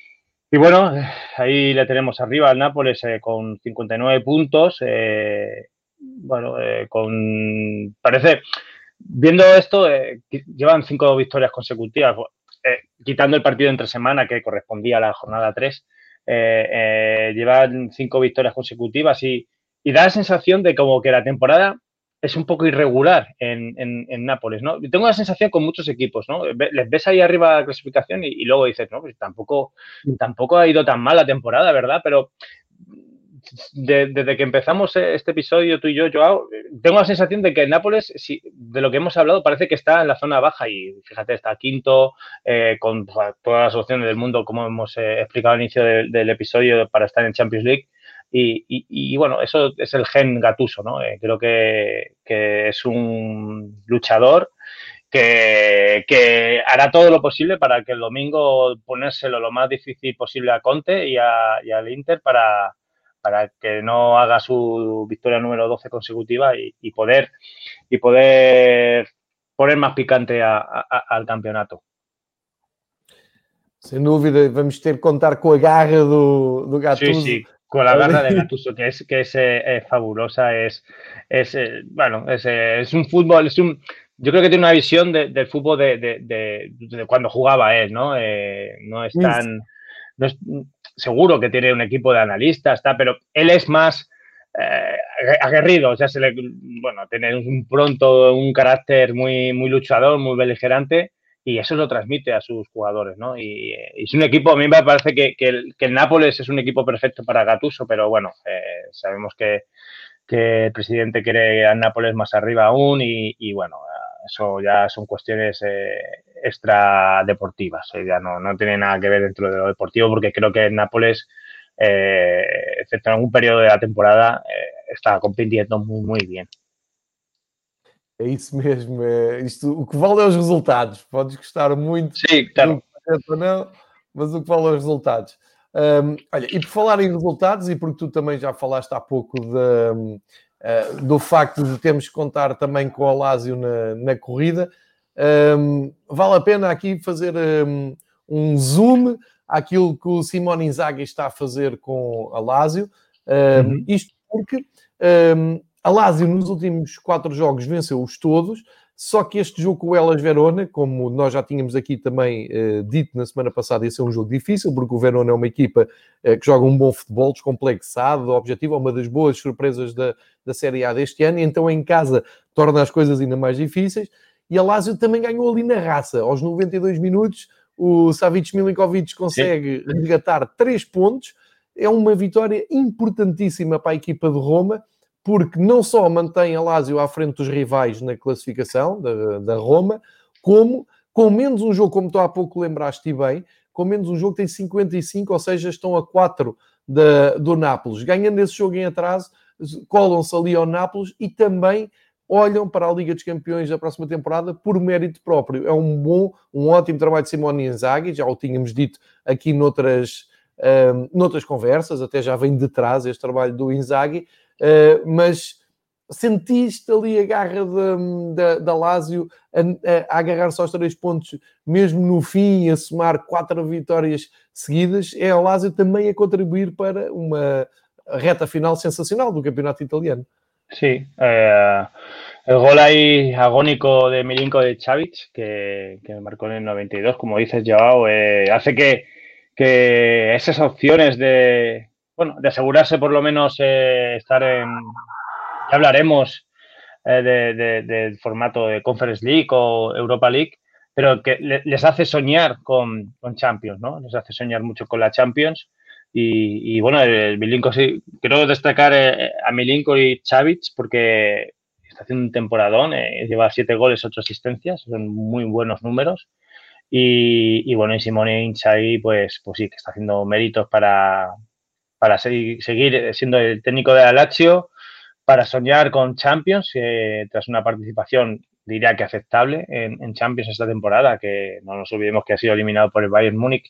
y bueno, ahí le tenemos arriba al Nápoles eh, con cincuenta y nueve puntos. Eh, bueno, eh, con parece, viendo esto, eh, llevan cinco victorias consecutivas, eh, quitando el partido entre semana que correspondía a la jornada tres, eh, eh, llevan cinco victorias consecutivas y Y da la sensación de como que la temporada es un poco irregular en, en, en Nápoles, ¿no? Tengo la sensación con muchos equipos, ¿no? Les ves ahí arriba la clasificación y, y luego dices, no, pues tampoco, tampoco ha ido tan mal la temporada, ¿verdad? Pero de, desde que empezamos este episodio, tú y yo, Joao, tengo la sensación de que Nápoles, si, de lo que hemos hablado, parece que está en la zona baja y fíjate, está quinto, eh, con todas las opciones del mundo, como hemos eh, explicado al inicio de, del episodio, para estar en Champions League. Y, y, y bueno, eso es el gen Gattuso, ¿no? Eh, creo que, que es un luchador que, que hará todo lo posible para que el domingo ponérselo lo más difícil posible a Conte y, a, y al Inter para, para que no haga su victoria número doce consecutiva y, y poder y poder poner más picante a, a, al campeonato. Sem dúvida, vamos ter que contar com a garra do, do Gattuso. Sí, sí. Con la garra de Gattuso, que es que es, eh, fabulosa, es, es eh, bueno, es, eh, es un fútbol, es un, yo creo que tiene una visión de, del fútbol de, de, de, de cuando jugaba él, ¿no? Eh, no es tan, no es, seguro que tiene un equipo de analistas, está, pero él es más eh, aguerrido, o sea, se le, bueno, tiene un pronto, un carácter muy, muy luchador, muy beligerante. Y eso lo transmite a sus jugadores, ¿no? Y, y es un equipo, a mí me parece que, que, el, que el Nápoles es un equipo perfecto para Gattuso, pero bueno, eh, sabemos que, que el presidente quiere al Nápoles más arriba aún y, y bueno, eso ya son cuestiones eh, extra deportivas, eh, ya no, no tiene nada que ver dentro de lo deportivo, porque creo que el Nápoles, eh, excepto en algún periodo de la temporada, eh, está compitiendo muy, muy bien. É isso mesmo. É isto, o que vale é os resultados. Podes gostar muito Sim, claro. do que certo ou não, mas o que vale é os resultados. Um, olha, e por falar em resultados, e porque tu também já falaste há pouco de, um, uh, do facto de termos que contar também com o Lazio na, na corrida, um, vale a pena aqui fazer um, um zoom àquilo que o Simone Inzaghi está a fazer com a Lazio. Um, uhum. Isto porque um, a Lazio nos últimos quatro jogos venceu-os todos, só que este jogo com o Hellas Verona, como nós já tínhamos aqui também uh, dito na semana passada, ia ser um jogo difícil, porque o Verona é uma equipa uh, que joga um bom futebol, descomplexado, objetivo, é uma das boas surpresas da, da Série A deste ano, e então em casa torna as coisas ainda mais difíceis, e a Lazio também ganhou ali na raça. Aos noventa e dois minutos, o Savic Milinkovic consegue Sim. resgatar três pontos, é uma vitória importantíssima para a equipa de Roma, porque não só mantém a Lazio à frente dos rivais na classificação da, da Roma, como com menos um jogo, como tu há pouco lembraste bem, com menos um jogo tem cinquenta e cinco, ou seja, estão a quatro da, do Nápoles. Ganhando esse jogo em atraso, colam-se ali ao Nápoles e também olham para a Liga dos Campeões da próxima temporada por mérito próprio. É um bom, um ótimo trabalho de Simone Inzaghi, já o tínhamos dito aqui noutras, um, noutras conversas, até já vem de trás este trabalho do Inzaghi, Uh, mas sentiste ali a garra da, da, da Lazio a, a, a agarrar-se aos três pontos mesmo no fim e a somar quatro vitórias seguidas? É a Lazio também a contribuir para uma reta final sensacional do campeonato italiano. Sí, eh, el gol ahí agónico de Milinkovic que, que marcó en el noventa y dos, como dices, Joao, eh, hace que, que esas opciones de bueno, de asegurarse por lo menos eh, estar en... Ya hablaremos eh, de, de, del formato de Conference League o Europa League, pero que le, les hace soñar con, con Champions, ¿no? Les hace soñar mucho con la Champions. Y, y bueno, el Milinko, sí, quiero destacar eh, a Milinko y Savic porque está haciendo un temporadón, eh, lleva siete goles, ocho asistencias, son muy buenos números. Y, y bueno, y Simone Inzaghi, pues, pues sí, que está haciendo méritos para... para seguir, seguir siendo el técnico de la Lazio, para soñar con Champions, eh, tras una participación, diría que aceptable, en, en Champions esta temporada, que no nos olvidemos que ha sido eliminado por el Bayern Múnich,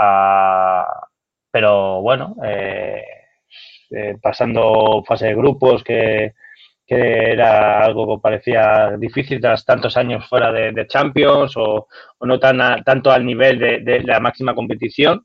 uh, pero bueno, eh, eh, pasando fase de grupos, que, que era algo que parecía difícil tras tantos años fuera de, de Champions, o, o no tan a, tanto al nivel de, de la máxima competición.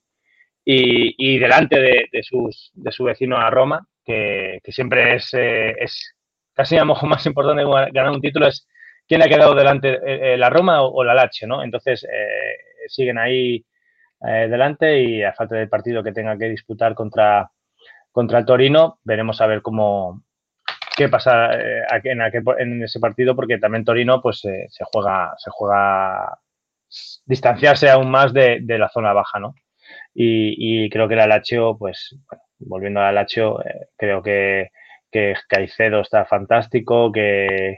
Y, y delante de, de, sus, de su vecino a Roma, que, que siempre es, eh, es casi a lo mejor más importante que ganar un título, es quién ha quedado delante, eh, la Roma o, o la Lazio, ¿no? Entonces eh, siguen ahí eh, delante y a falta del partido que tenga que disputar contra, contra el Torino, veremos a ver cómo qué pasa eh, en, aquel, en ese partido, porque también Torino pues eh, se juega se juega distanciarse aún más de, de la zona baja, ¿no? Y, y creo que la Lazio, pues, bueno, volviendo a la Lazio, eh, creo que, que Caicedo está fantástico, que,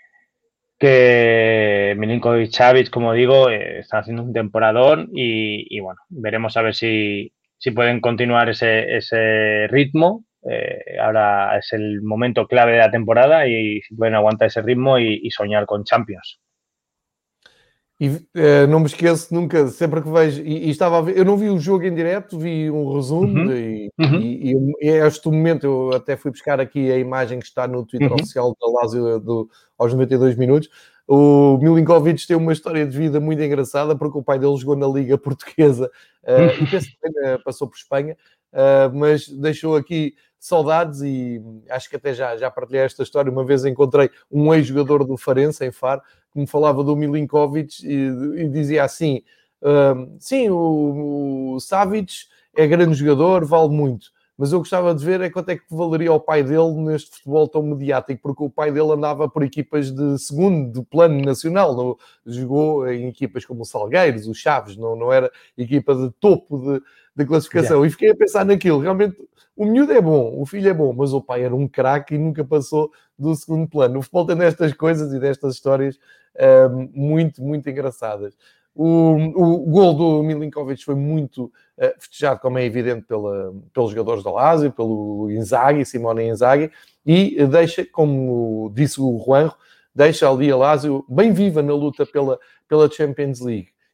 que Milinkovic, Savic, como digo, eh, están haciendo un temporadón y, y bueno, veremos a ver si, si pueden continuar ese, ese ritmo. Eh, ahora es el momento clave de la temporada y si pueden aguantar ese ritmo y, y soñar con Champions. E uh, não me esqueço nunca, sempre que vejo, e, e estava a ver, eu não vi o jogo em direto, vi um resumo, uhum. E, uhum. E, e, e a este momento eu até fui buscar aqui a imagem que está no Twitter uhum. oficial da Lazio do, aos noventa e dois minutos. O Milinkovic tem uma história de vida muito engraçada, porque o pai dele jogou na Liga Portuguesa uh, e penso que passou por Espanha, uh, mas deixou aqui saudades e acho que até já, já partilhei esta história. Uma vez encontrei um ex-jogador do Farense, em Faro, que me falava do Milinkovic e, e dizia assim, uh, sim, o, o Savic é grande jogador, vale muito, mas eu gostava de ver é quanto é que valeria o pai dele neste futebol tão mediático, porque o pai dele andava por equipas de segundo, de plano nacional, não, jogou em equipas como o Salgueiros, o Chaves, não, não era equipa de topo de, de classificação. Yeah. E fiquei a pensar naquilo, realmente o miúdo é bom, o filho é bom, mas o pai era um craque e nunca passou do segundo plano. O futebol tem destas coisas e destas histórias um, muito, muito engraçadas. O, o gol do Milinkovic foi muito uh, festejado, como é evidente, pela, pelos jogadores da Lazio, pelo Inzaghi, Simone Inzaghi, e deixa, como disse o Juanjo, deixa ali a Lazio bem viva na luta pela, pela Champions League.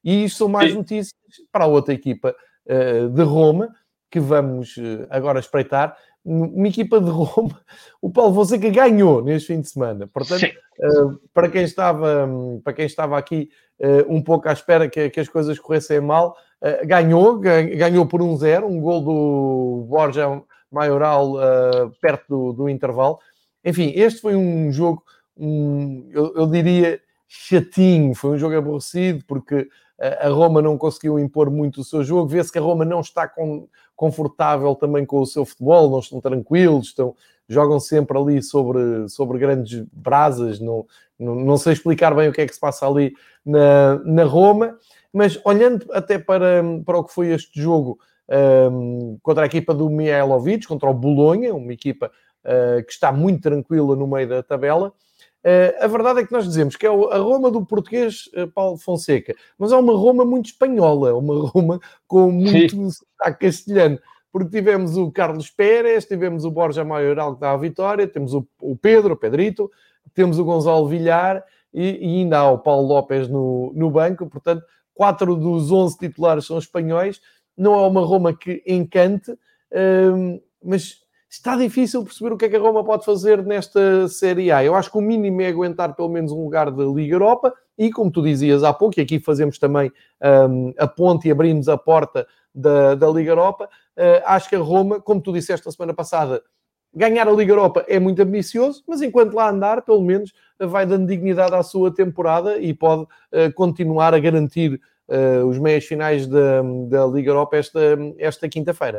E isto são mais Sí. notícias para a outra equipa uh, de Roma, que vamos uh, agora espreitar. Uma equipa de Roma, o Paulo Fonseca ganhou neste fim de semana. Portanto, Sí. uh, para, quem estava, para quem estava aqui uh, um pouco à espera que, que as coisas corressem mal, uh, ganhou, ganhou por um zero, um gol do Borja Maioral uh, perto do, do intervalo. Enfim, este foi um jogo, um, eu, eu diria, chatinho. Foi um jogo aborrecido, porque a Roma não conseguiu impor muito o seu jogo. Vê-se que a Roma não está com, confortável também com o seu futebol, não estão tranquilos, estão, jogam sempre ali sobre, sobre grandes brasas. Não, não, não sei explicar bem o que é que se passa ali na, na Roma, mas olhando até para, para o que foi este jogo um, contra a equipa do Mihailovic, contra o Bolonha, uma equipa uh, que está muito tranquila no meio da tabela. Uh, a verdade é que nós dizemos que é a Roma do português uh, Paulo Fonseca, mas é uma Roma muito espanhola, uma Roma com muito sotaque castelhano, porque tivemos o Carlos Pérez, tivemos o Borja Maioral que dá a vitória, temos o, o Pedro, o Pedrito, temos o Gonçalo Villar e, e ainda há o Paulo López no, no banco. Portanto, quatro dos onze titulares são espanhóis. Não é uma Roma que encante, uh, mas está difícil perceber o que é que a Roma pode fazer nesta Série A. Eu acho que o mínimo é aguentar pelo menos um lugar da Liga Europa e, como tu dizias há pouco, e aqui fazemos também um, a ponte e abrimos a porta da, da Liga Europa, uh, acho que a Roma, como tu disseste na semana passada, ganhar a Liga Europa é muito ambicioso, mas enquanto lá andar, pelo menos vai dando dignidade à sua temporada e pode uh, continuar a garantir uh, os meias finais da, da Liga Europa esta, esta quinta-feira.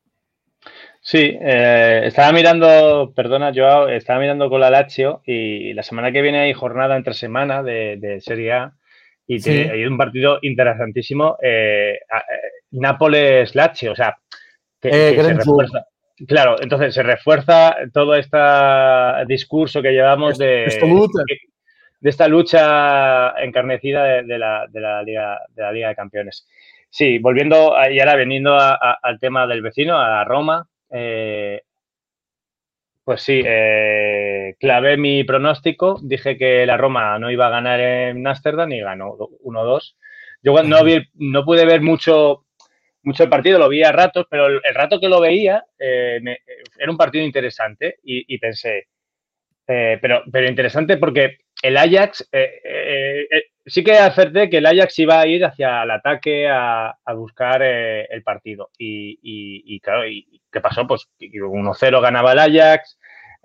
Sí, eh, estaba mirando, perdona Joao, estaba mirando con la Lazio y la semana que viene hay jornada entre semana de, de Serie A y Sí. tiene, hay un partido interesantísimo, eh, eh, Nápoles-Lazio, o sea, que, Eh, que se gran jogo. refuerza. Claro, entonces se refuerza todo este discurso que llevamos de, Esta luta. de esta lucha encarnecida de, de, la, de, la Liga, de la Liga de Campeones. Sí, volviendo a, y ahora veniendo a, a, al tema del vecino, a Roma. Eh, pues sí, eh, clavé mi pronóstico, dije que la Roma no iba a ganar en Ámsterdam y ganó uno dos. Yo no, vi, no pude ver mucho, mucho el partido, lo vi a ratos, pero el, el rato que lo veía eh, me, era un partido interesante y, y pensé, eh, pero, pero interesante porque el Ajax, eh, eh, eh, sí que acerté que el Ajax iba a ir hacia el ataque a, a buscar eh, el partido. Y, y, y claro, y, ¿qué pasó? Pues uno cero ganaba el Ajax,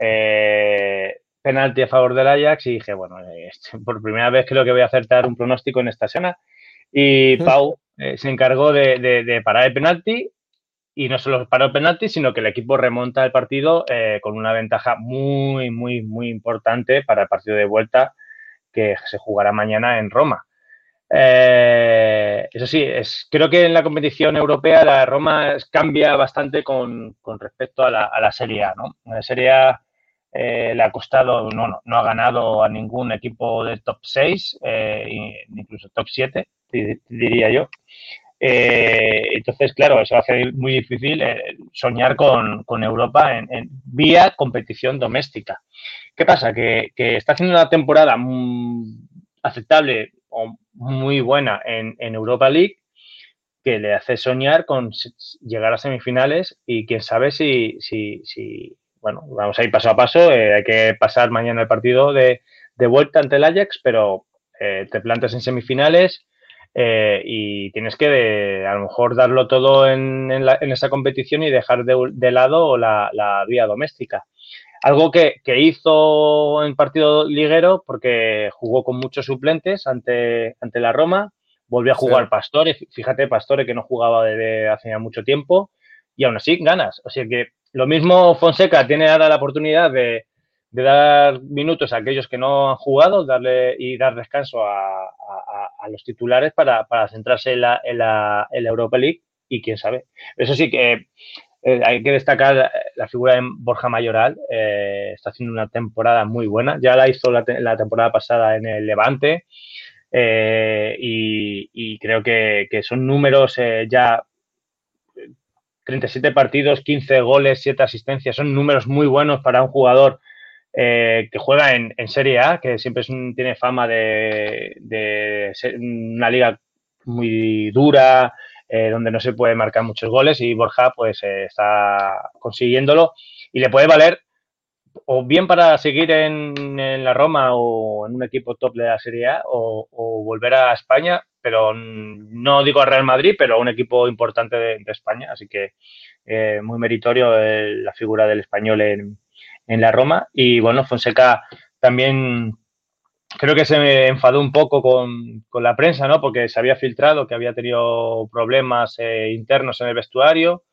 eh, penalti a favor del Ajax y dije, bueno, eh, por primera vez creo que voy a acertar un pronóstico en esta semana. Y Pau eh, se encargó de, de, de parar el penalti. Y no solo paró el penalti, sino que el equipo remonta el partido eh, con una ventaja muy, muy, muy importante para el partido de vuelta que se jugará mañana en Roma. Eh, eso sí, es, creo que en la competición europea la Roma cambia bastante con, con respecto a la, a la Serie A, ¿no? La Serie A eh, le ha costado, no, no, no ha ganado a ningún equipo del top seis, eh, incluso top siete, diría yo. Eh, entonces, claro, eso hace muy difícil eh, soñar con, con Europa en, en vía competición doméstica. ¿Qué pasa? Que, que está haciendo una temporada muy aceptable o muy buena en, en Europa League que le hace soñar con llegar a semifinales y quién sabe si, si, si bueno, vamos a ir paso a paso, eh, hay que pasar mañana el partido de, de vuelta ante el Ajax, pero eh, te plantas en semifinales. Eh, y tienes que de, a lo mejor darlo todo en, en, la, en esa competición y dejar de, de lado la, la vía doméstica. Algo que, que hizo en partido liguero porque jugó con muchos suplentes ante, ante la Roma, volvió a jugar sí. Pastore, fíjate Pastore que no jugaba desde hace ya mucho tiempo y aún así ganas. O sea que lo mismo Fonseca tiene ahora la oportunidad de, de dar minutos a aquellos que no han jugado, darle y dar descanso a, a, a los titulares para, para centrarse en la, en, la, en la Europa League y quién sabe. Eso sí que eh, hay que destacar la figura de Borja Mayoral, eh, está haciendo una temporada muy buena, ya la hizo la, te la temporada pasada en el Levante eh, y, y creo que, que son números eh, ya treinta y siete partidos, quince goles, siete asistencias, son números muy buenos para un jugador Eh, que juega en, en Serie A, que siempre es un, tiene fama de, de ser una liga muy dura, eh, donde no se puede marcar muchos goles y Borja pues eh, está consiguiéndolo y le puede valer o bien para seguir en, en la Roma o en un equipo top de la Serie A o, o volver a España, pero no digo a Real Madrid, pero a un equipo importante de, de España, así que eh, muy meritorio el, la figura del español en, en la Roma y bueno, Fonseca también creo que se enfadó un poco con, con la prensa, ¿no? Porque se había filtrado que había tenido problemas eh, internos en el vestuario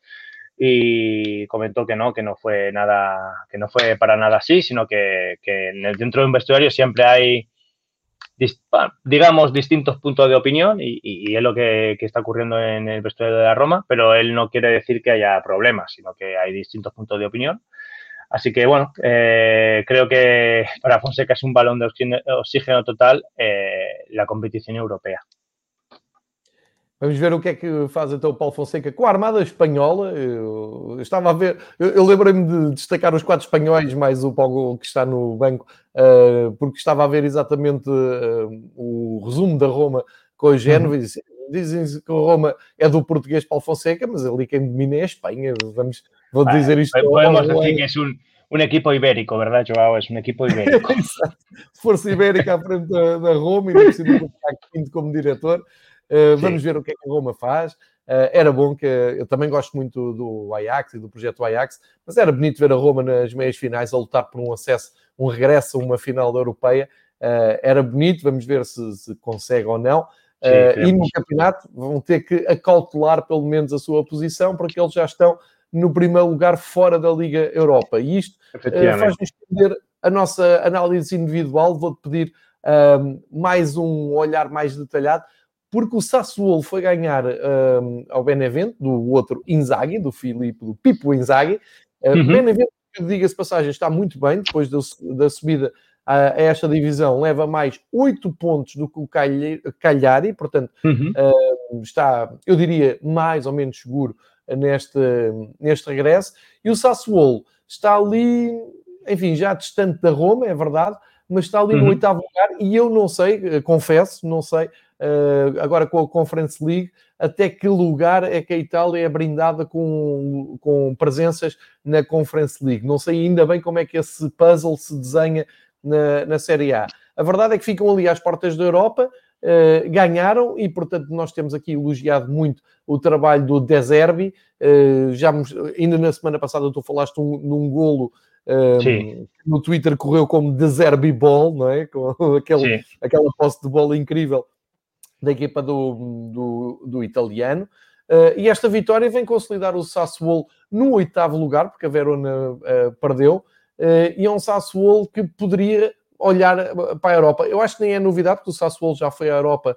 y comentó que no, que no fue nada, que no fue para nada así, sino que, que en el, dentro de un vestuario siempre hay, digamos, distintos puntos de opinión y, y, y es lo que, que está ocurriendo en el vestuario de la Roma, pero él no quiere decir que haya problemas, sino que hay distintos puntos de opinión. Así que, bueno, eh, creo que para Fonseca es un balón de oxígeno, oxígeno total eh, la competición europea. Vamos ver o que é que faz então o Paulo Fonseca com a Armada Espanhola. Eu, eu estava a ver, eu, eu lembrei-me de destacar os quatro espanhóis, mais o Paulo que está no banco, uh, porque estava a ver exatamente uh, o resumo da Roma com o Génova. Uhum. Dizem que a Roma é do português Paulo Fonseca, mas ali quem domina é a Espanha. Vamos, vou dizer isto. Podemos dizer que é um, um equipo ibérico, verdade, João? É um equipo ibérico. Força ibérica à frente da, da Roma e no cima do quinto como diretor. Uh, vamos ver o que é que a Roma faz. Uh, era bom que... Eu também gosto muito do Ajax e do projeto Ajax, mas era bonito ver a Roma nas meias finais a lutar por um acesso, um regresso a uma final da europeia. Uh, era bonito, vamos ver se, se consegue ou não. Uh, Sim, e no campeonato vão ter que acautelar pelo menos a sua posição, porque eles já estão no primeiro lugar fora da Liga Europa. E isto uh, faz-nos entender a nossa análise individual. Vou-te pedir uh, mais um olhar mais detalhado, porque o Sassuolo foi ganhar um, ao Benevento, do outro Inzaghi, do Filipe, do Pipo Inzaghi. Uh, uhum. Benevento, diga-se passagem, está muito bem, depois da, da subida a, a esta divisão, leva mais oito pontos do que o Cagliari, portanto, uhum. uh, está, eu diria, mais ou menos seguro neste, neste regresso. E o Sassuolo está ali, enfim, já distante da Roma, é verdade, mas está ali uhum. no oitavo lugar e eu não sei, confesso, não sei, Uh, agora com a Conference League, até que lugar é que a Itália é brindada com, com presenças na Conference League. Não sei ainda bem como é que esse puzzle se desenha na, na Série A. A verdade é que ficam ali às portas da Europa, uh, ganharam e, portanto, nós temos aqui elogiado muito o trabalho do De Zerbi. Uh, já, ainda na semana passada tu falaste um, num golo um, no Twitter correu como De Zerbi Ball, não é? Com aquele, aquela posse de bola incrível da equipa do, do, do italiano, uh, e esta vitória vem consolidar o Sassuolo no oitavo lugar, porque a Verona uh, perdeu, uh, e é um Sassuolo que poderia olhar para a Europa. Eu acho que nem é novidade, porque o Sassuolo já foi à Europa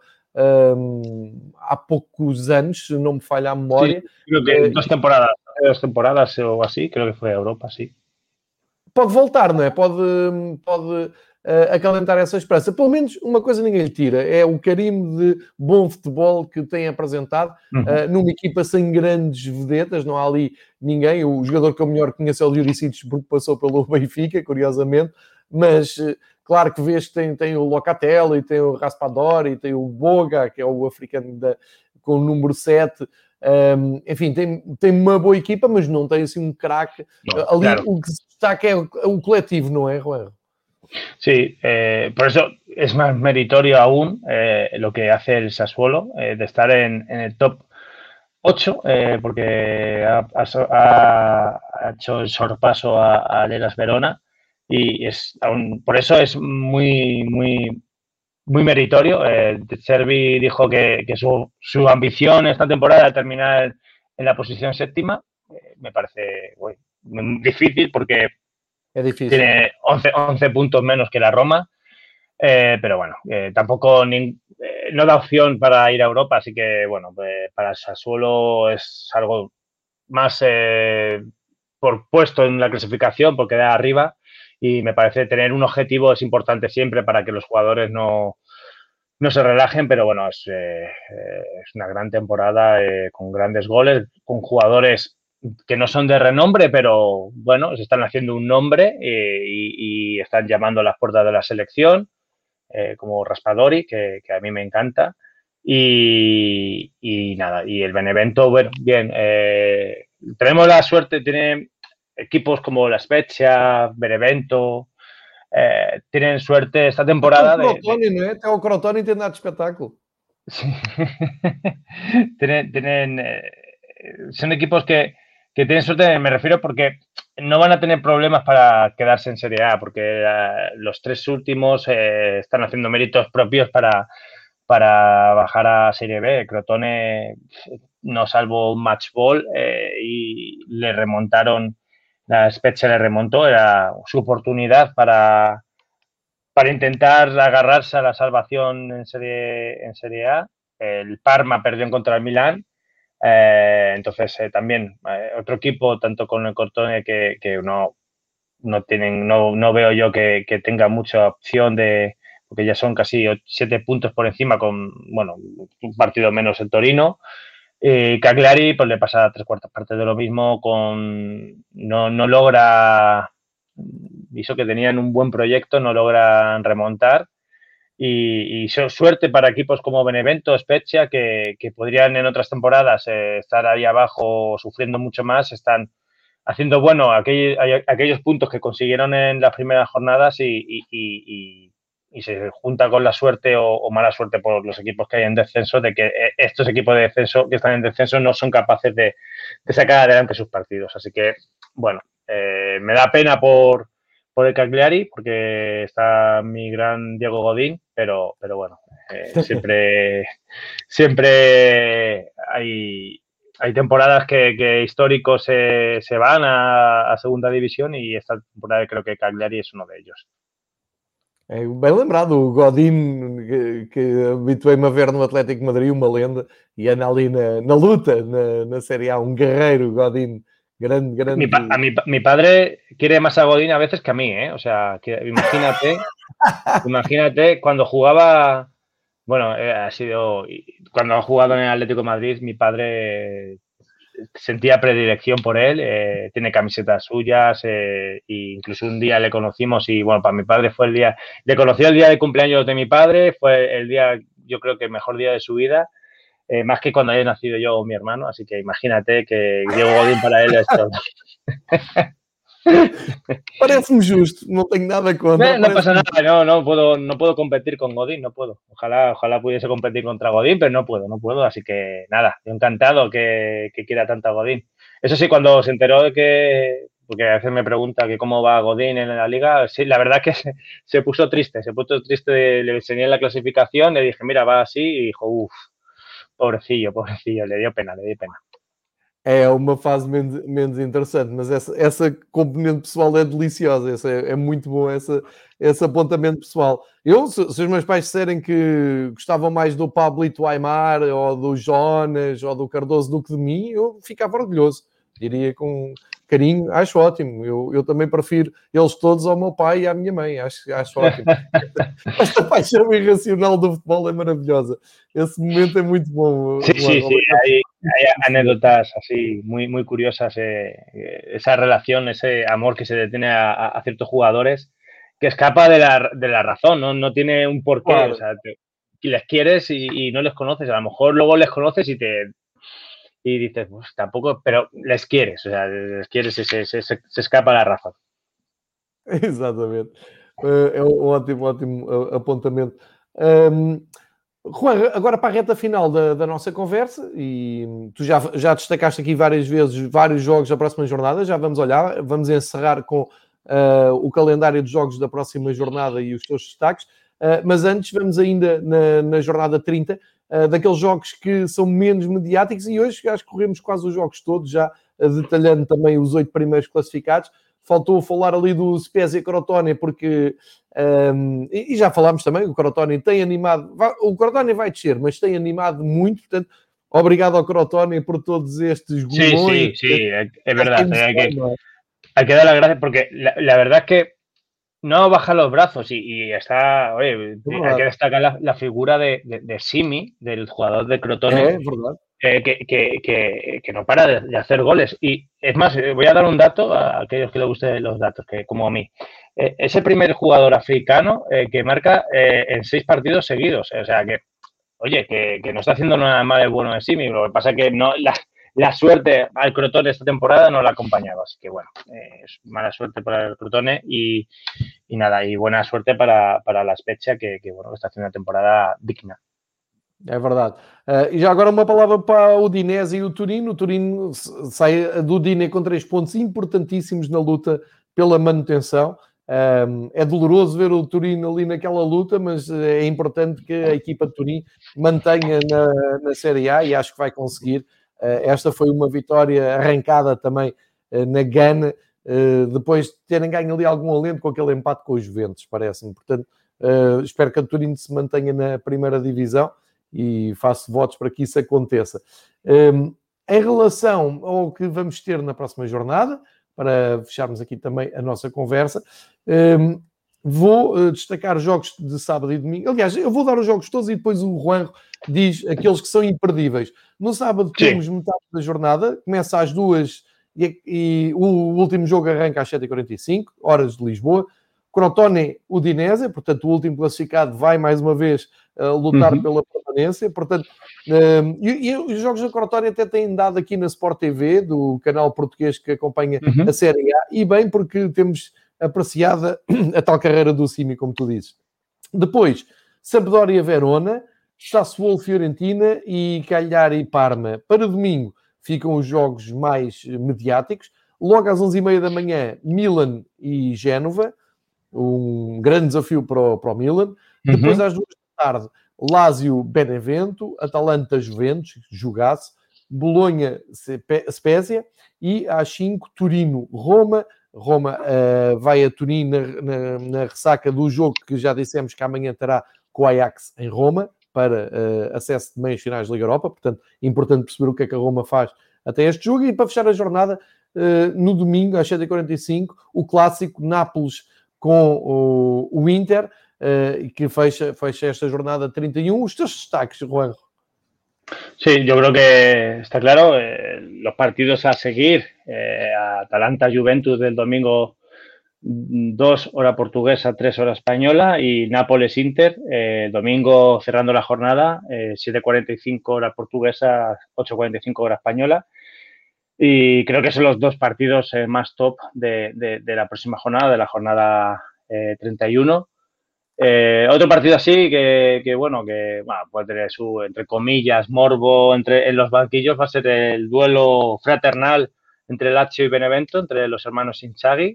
um, há poucos anos, se não me falha a memória. Sim, creo que uh, duas temporadas, duas temporadas ou assim, creio que foi à Europa, sim. Pode voltar, não é? Pode... pode Uh, acalentar essa esperança. Pelo menos uma coisa ninguém lhe tira, é o carimbo de bom futebol que tem apresentado, uhum. uh, numa equipa sem grandes vedetas, não há ali ninguém. O jogador que eu melhor conheço é o Juricic, porque passou pelo Benfica, curiosamente, mas uh, claro que vês que tem, tem o Locatelli, tem o Raspadori, tem o Boga, que é o africano da, com o número sete. Um, enfim, tem, tem uma boa equipa, mas não tem assim um craque. Ali claro. O que se destaca é o, o coletivo, não é, Juan? Sí, eh, por eso es más meritorio aún eh, lo que hace el Sassuolo, eh, de estar en, en el top ocho, eh, porque ha, ha, ha hecho el sorpaso a, a Hellas Verona y es aún, por eso es muy, muy, muy meritorio. Eh, De Zerbi dijo que, que su, su ambición esta temporada era terminar en la posición séptima. Eh, me parece bueno, difícil porque es difícil. Tiene once, once puntos menos que la Roma, eh, pero bueno, eh, tampoco ni, eh, no da opción para ir a Europa, así que bueno, eh, para el Sassuolo es algo más eh, por puesto en la clasificación, por quedar arriba, y me parece tener un objetivo es importante siempre para que los jugadores no, no se relajen, pero bueno, es, eh, es una gran temporada eh, con grandes goles, con jugadores que no son de renombre, pero bueno, se están haciendo un nombre eh, y, y están llamando a las puertas de la selección, eh, como Raspadori, que, que a mí me encanta. Y, y nada, y el Benevento, bueno, bien, eh, tenemos la suerte, tiene equipos como la Spezia, Benevento, eh, tienen suerte esta Até o temporada de, de Crotone, não é? Até o Crotone tem dado espetáculo. sí. tienen, tienen eh, son equipos que, que tienen suerte, me refiero porque no van a tener problemas para quedarse en Serie A, porque eh, los tres últimos eh, están haciendo méritos propios para, para bajar a Serie B. Crotone no salvó un match ball eh, y le remontaron, la Spezia le remontó, era su oportunidad para, para intentar agarrarse a la salvación en Serie, en serie A. El Parma perdió en contra el Milán. Eh, entonces, eh, también eh, otro equipo, tanto con el Crotone, que, que no, no tienen, no, no veo yo que, que tenga mucha opción de, porque ya son casi siete puntos por encima con, bueno, un partido menos el Torino. Eh, Cagliari, pues le pasa tres cuartas partes de lo mismo, con no, no logra, hizo que tenían un buen proyecto, no logran remontar. Y, y suerte para equipos como Benevento, Spezia, que, que podrían en otras temporadas eh, estar ahí abajo sufriendo mucho más, están haciendo bueno aquellos, aquellos puntos que consiguieron en las primeras jornadas y, y, y, y se junta con la suerte o, o mala suerte por los equipos que hay en descenso de que estos equipos de descenso que están en descenso no son capaces de, de sacar adelante sus partidos. Así que, bueno, eh, me da pena por por el Cagliari, porque está mi gran Diego Godín, pero, pero bueno, eh, siempre, siempre hay, hay temporadas que, que históricos se, se van a, a segunda división y esta temporada creo que Cagliari es uno de ellos. É bem lembrado, o Godín, que, que habituei-me a ver no Atlético de Madrid, uma lenda, e anda ali na, na luta, na, na Série A, um guerreiro, Godín. Grande, grande. Mi, pa, a mi, mi padre quiere más a Godín a veces que a mí, ¿eh? O sea, que, imagínate, imagínate cuando jugaba, bueno, eh, ha sido, cuando ha jugado en el Atlético de Madrid, mi padre sentía predilección por él, eh, tiene camisetas suyas, eh, e incluso un día le conocimos y bueno, para mi padre fue el día, le conocí el día de cumpleaños de mi padre, fue el día, yo creo que el mejor día de su vida. Eh, más que cuando haya nacido yo o mi hermano, así que imagínate que Diego Godín para él es todo. Parece-me justo, no tengo nada contra. No, no pasa nada, no, no puedo, no puedo competir con Godín, no puedo. Ojalá, ojalá pudiese competir contra Godín, pero no puedo, no puedo, así que nada, yo encantado que, que quiera tanto a Godín. Eso sí, cuando se enteró de que, porque a veces me pregunta que cómo va Godín en la liga, sí, la verdad que se, se puso triste, se puso triste, le enseñé la clasificación, le dije, mira, va así, y dijo, uff. Pobrecillo, pobrecillo, le dio pena, le dio pena. É uma fase menos, menos interessante, mas essa, essa componente pessoal é deliciosa, essa, é, é muito bom essa, esse apontamento pessoal. Eu, se, se os meus pais disserem que gostavam mais do Pablito Aimar, ou do Jonas, ou do Cardoso do que de mim, eu ficava orgulhoso, diria com carinho, acho ótimo. Eu, eu também prefiro eles todos ao meu pai e à minha mãe, acho, acho ótimo. Esta paixão irracional do futebol é maravilhosa. Esse momento é muito bom. Sí, sí, sí, hay, hay anécdotas así muy, muy curiosas, eh, esa relación, ese amor que se detiene a, a ciertos jugadores que escapa de la, de la razón, ¿no? No tiene un porqué, claro. O sea, te, les quieres y, y no les conoces, a lo mejor luego les conoces y te... y dices, pues tampoco, pero les quieres, o sea, les quieres y se, se, se, se escapa la razón. Exatamente. É um ótimo, ótimo apontamento. Um, Juan, agora para a reta final da, da nossa conversa, e tu já, já destacaste aqui várias vezes vários jogos da próxima jornada, já vamos olhar, vamos encerrar com uh, o calendário de jogos da próxima jornada e os teus destaques, uh, mas antes vamos ainda na, na jornada trinta, Uh, daqueles jogos que são menos mediáticos, e hoje acho que corremos quase os jogos todos, já uh, detalhando também os oito primeiros classificados. Faltou falar ali do Spezia Crotone, porque um, e, e já falámos também, o Crotone tem animado, vai, o Crotone vai descer, mas tem animado muito, portanto, obrigado ao Crotone por todos estes golões. Sí, sí, sí, é, é verdade, hay que, hay que dar las gracias, porque la, la verdad es que no baja los brazos y, y está, oye, no, hay que destacar la, la figura de, de, de Simi, del jugador de Crotone, eh, eh, que, que, que, que no para de, de hacer goles. Y es más, voy a dar un dato a aquellos que les gusten los datos, que como a mí. Eh, es el primer jugador africano eh, que marca eh, en seis partidos seguidos. O sea que, oye, que, que no está haciendo nada mal el bueno de Simi. Lo que pasa es que no, la, la suerte al Crotone esta temporada no la ha acompañado. Así que bueno, eh, es mala suerte para el Crotone y, y nada, y buena suerte para, para la Spezia, que, que bueno, que está haciendo una temporada digna. É verdade. Uh, e já agora uma palavra para o Udinese e o Turino. O Turino sai do Udine com três pontos importantíssimos na luta pela manutenção. Um, é doloroso ver o Turino ali naquela luta, mas é importante que a equipa de Turim mantenha na, na Série A e acho que vai conseguir. Uh, esta foi uma vitória arrancada também uh, na Gana, uh, depois de terem ganho ali algum alento com aquele empate com os Juventus, parece-me. Portanto, uh, espero que a Turino se mantenha na primeira divisão e faço votos para que isso aconteça. Um, em relação ao que vamos ter na próxima jornada, para fecharmos aqui também a nossa conversa, um, vou uh, destacar jogos de sábado e domingo. Aliás, eu vou dar os jogos todos e depois o Juanjo diz aqueles que são imperdíveis. No sábado temos Sim. metade da jornada, começa às duas e, e o último jogo arranca às sete e quarenta e cinco, horas de Lisboa. Crotone Udinese, portanto o último classificado vai mais uma vez uh, lutar uhum. pela permanência, portanto uh, e, e os jogos da Crotone até têm dado aqui na Sport T V, do canal português que acompanha uhum. a Série A, e bem porque temos apreciada a tal carreira do Simi, como tu dizes. Depois, Sampdoria Verona, Sassuolo Fiorentina e Cagliari Parma. Para domingo ficam os jogos mais mediáticos, logo às onze e meia da manhã Milan e Génova, um grande desafio para o, para o Milan. Uhum. Depois, às duas da tarde, Lazio Benevento, Atalanta Juventus, jogasse, Bolonha Spezia, e às cinco, Turino Roma. Roma uh, vai a Turim na, na, na ressaca do jogo que já dissemos que amanhã terá com o Ajax em Roma, para uh, acesso de meias finais da Liga Europa. Portanto, importante perceber o que é que a Roma faz até este jogo. E para fechar a jornada, uh, no domingo, às sete e quarenta e cinco, o clássico Nápoles com o, o Inter, uh, que fecha, fecha esta jornada trinta e um. Os teus destaques, Juanjo? Sí, yo creo que está claro. Eh, los partidos a seguir, eh, Atalanta-Juventus del domingo dos hora portuguesa, tres hora española, y Nápoles-Inter, eh, domingo cerrando la jornada, eh, siete cuarenta y cinco hora portuguesa, ocho cuarenta y cinco hora española. Y creo que son los dos partidos eh, más top de, de, de la próxima jornada, de la jornada eh, treinta y uno. Eh, otro partido así que, que bueno, que bueno, puede tener su, entre comillas, morbo entre, en los banquillos, va a ser el duelo fraternal entre Lazio y Benevento, entre los hermanos Inzaghi.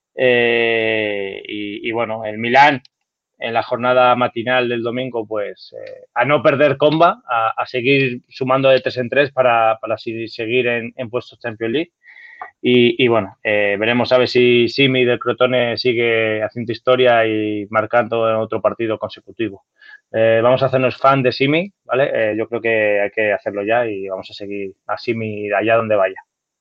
Eh, y, y bueno, el Milán en la jornada matinal del domingo, pues eh, a no perder comba, a, a seguir sumando de tres en tres para, para seguir en, en puestos Champions League. Y, y bueno, eh, veremos a ver si Simi del Crotone sigue haciendo historia y marcando en otro partido consecutivo. Eh, vamos a hacernos fan de Simi, ¿vale? Eh, yo creo que hay que hacerlo ya y vamos a seguir a Simi allá donde vaya.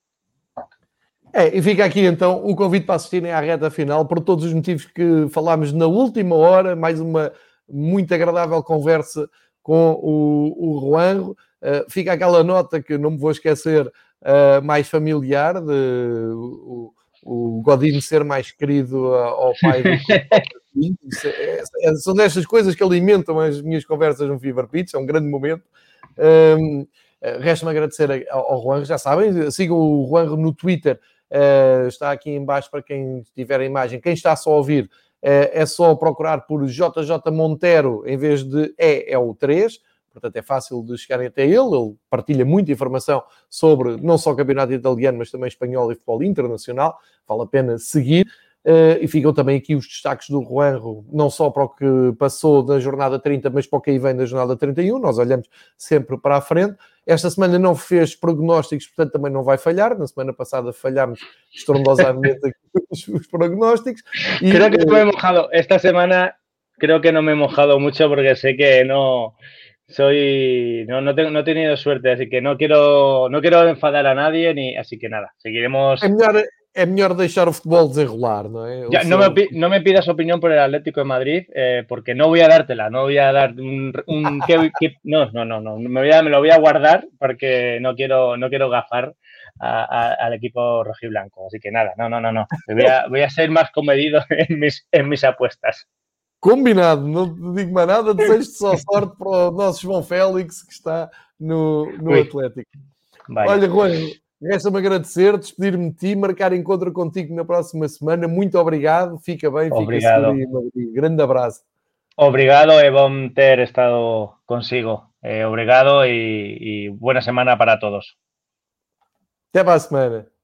É, e fica aqui então o convite para assistirem à reta final, por todos os motivos que falámos na última hora, mais uma muito agradável conversa com o, o Juanjo. Uh, fica aquela nota que não me vou esquecer, uh, mais familiar, de o, o Godinho ser mais querido ao pai do que é, é, são destas coisas que alimentam as minhas conversas no Fever Pitch, é um grande momento. Um, Resta-me agradecer ao, ao Juanjo, já sabem, sigam o Juanjo no Twitter. Uh, está aqui em baixo para quem tiver a imagem. Quem está só a ouvir, uh, é só procurar por J J Monteiro em vez de E, é o três, portanto é fácil de chegarem até ele. Ele partilha muita informação sobre não só o campeonato italiano, mas também espanhol e futebol internacional. Vale a pena seguir. Uh, e ficam também aqui os destaques do Juanjo, não só para o que passou da jornada trinta, mas para o que aí vem da jornada trinta e um. Nós olhamos sempre para a frente. Esta semana não fez prognósticos, portanto também não vai falhar. Na semana passada falhámos estrondosamente aqui os, os prognósticos. E, creo que no me he mojado. Esta semana creo que no me he mojado mucho porque sé que no soy no no, tengo, no he tenido suerte, así que no quiero no quiero enfadar a nadie, ni así que nada, seguiremos. É melhor, é melhor deixar o futebol desenrolar, ¿no? ¿Eh? Ya, no, me, no me pidas opinión por el Atlético de Madrid, eh, porque no voy a dártela, no voy a dar un... un que, que, no, no, no, no me, voy a, me lo voy a guardar porque no quiero, no quiero gafar a, a, al equipo rojiblanco. Así que nada, no, no, no, no. Voy a, voy a ser más comedido en mis, en mis apuestas. Combinado, não te digo mais nada, desejo-te só sorte para o nosso João Félix que está no, no Atlético. Vaya. Olha, Rui, resta-me agradecer, despedir-me de ti, marcar encontro contigo na próxima semana. Muito obrigado, fica bem, Obrigado. fica seguro e grande abraço. Obrigado, é bom ter estado consigo. Eh, obrigado e, y buena semana para todos. Até para a semana.